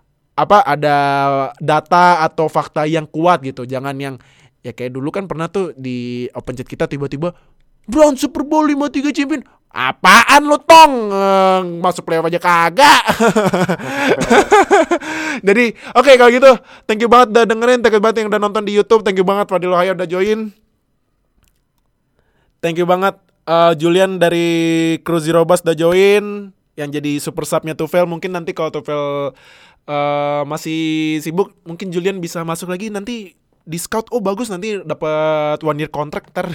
Speaker 2: data atau fakta yang kuat gitu. Jangan yang ya kayak dulu kan pernah tuh di Open Chat kita tiba-tiba Brown Super Bowl 53 champion. Apaan lo tong? Masuk playoff aja kagak. Jadi oke, kalau gitu thank you banget udah dengerin, thank you banget yang udah nonton di YouTube, thank you banget Fadil Ohaya udah join. Thank you banget Julian dari Crew Zero Bus udah join, yang jadi super subnya Tufel. Mungkin nanti kalau Tufel masih sibuk, mungkin Julian bisa masuk lagi nanti di scout. Bagus, nanti dapat 1 year contract ntar.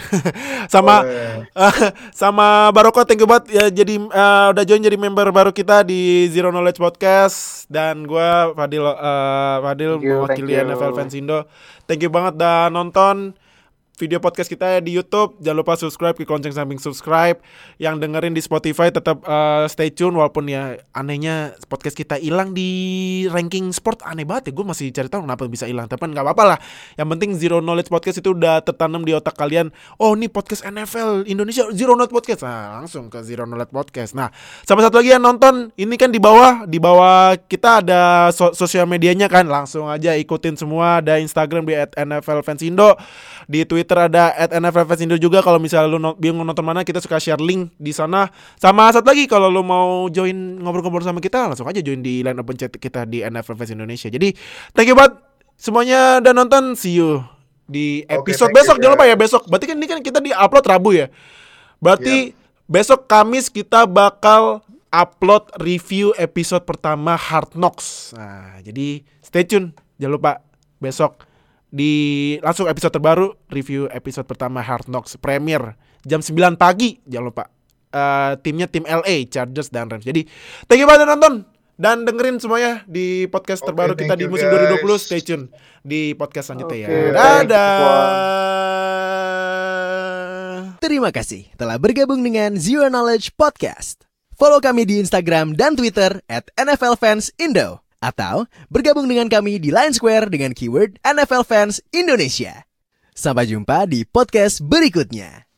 Speaker 2: Sama Baroko, thank you banget ya, jadi udah join jadi member baru kita di Zero Knowledge Podcast. Dan gue Fadil mewakili NFL Fans Indo. Thank you banget udah nonton video podcast kita di YouTube. Jangan lupa subscribe, klik lonceng samping subscribe. Yang dengerin di Spotify tetap stay tune, walaupun ya anehnya podcast kita hilang di ranking sport. Aneh banget ya, gue masih cari tahu kenapa bisa hilang, tapi nggak apa-apa lah. Yang penting Zero Knowledge Podcast itu udah tertanam di otak kalian. Oh, ini podcast NFL Indonesia, Zero Knowledge Podcast. Nah, langsung ke Zero Knowledge Podcast. Nah, sama satu lagi yang nonton, ini kan di bawah kita ada sosial medianya kan, langsung aja ikutin semua. Ada Instagram di @NFLFansIndo, di Twitter ada @NFLFansIndo juga. Kalau misalnya lu bingung nonton mana, kita suka share link di sana. Sama satu lagi, kalau lu mau join ngobrol-ngobrol sama kita, langsung aja join di line open chat kita di NFL Fans Indonesia. Jadi thank you banget semuanya udah nonton. See you di episode besok. Jangan lupa ya, besok. Berarti kan ini kan kita di upload Rabu ya. Berarti besok Kamis kita bakal upload review episode pertama Hard Knocks. Nah, jadi stay tune. Jangan lupa besok langsung episode terbaru, review episode pertama Hard Knocks Premier jam 9 pagi. Jangan lupa timnya tim LA Chargers dan Rams. Jadi thank you banget nonton dan dengerin semuanya di podcast terbaru kita di musim 2020. Stay tune di podcast selanjutnya ya. Dadah.
Speaker 1: Terima kasih telah bergabung dengan Zero Knowledge Podcast. Follow kami di Instagram dan Twitter @NFLFansIndo. Atau bergabung dengan kami di Line Square dengan keyword NFL Fans Indonesia. Sampai jumpa di podcast berikutnya.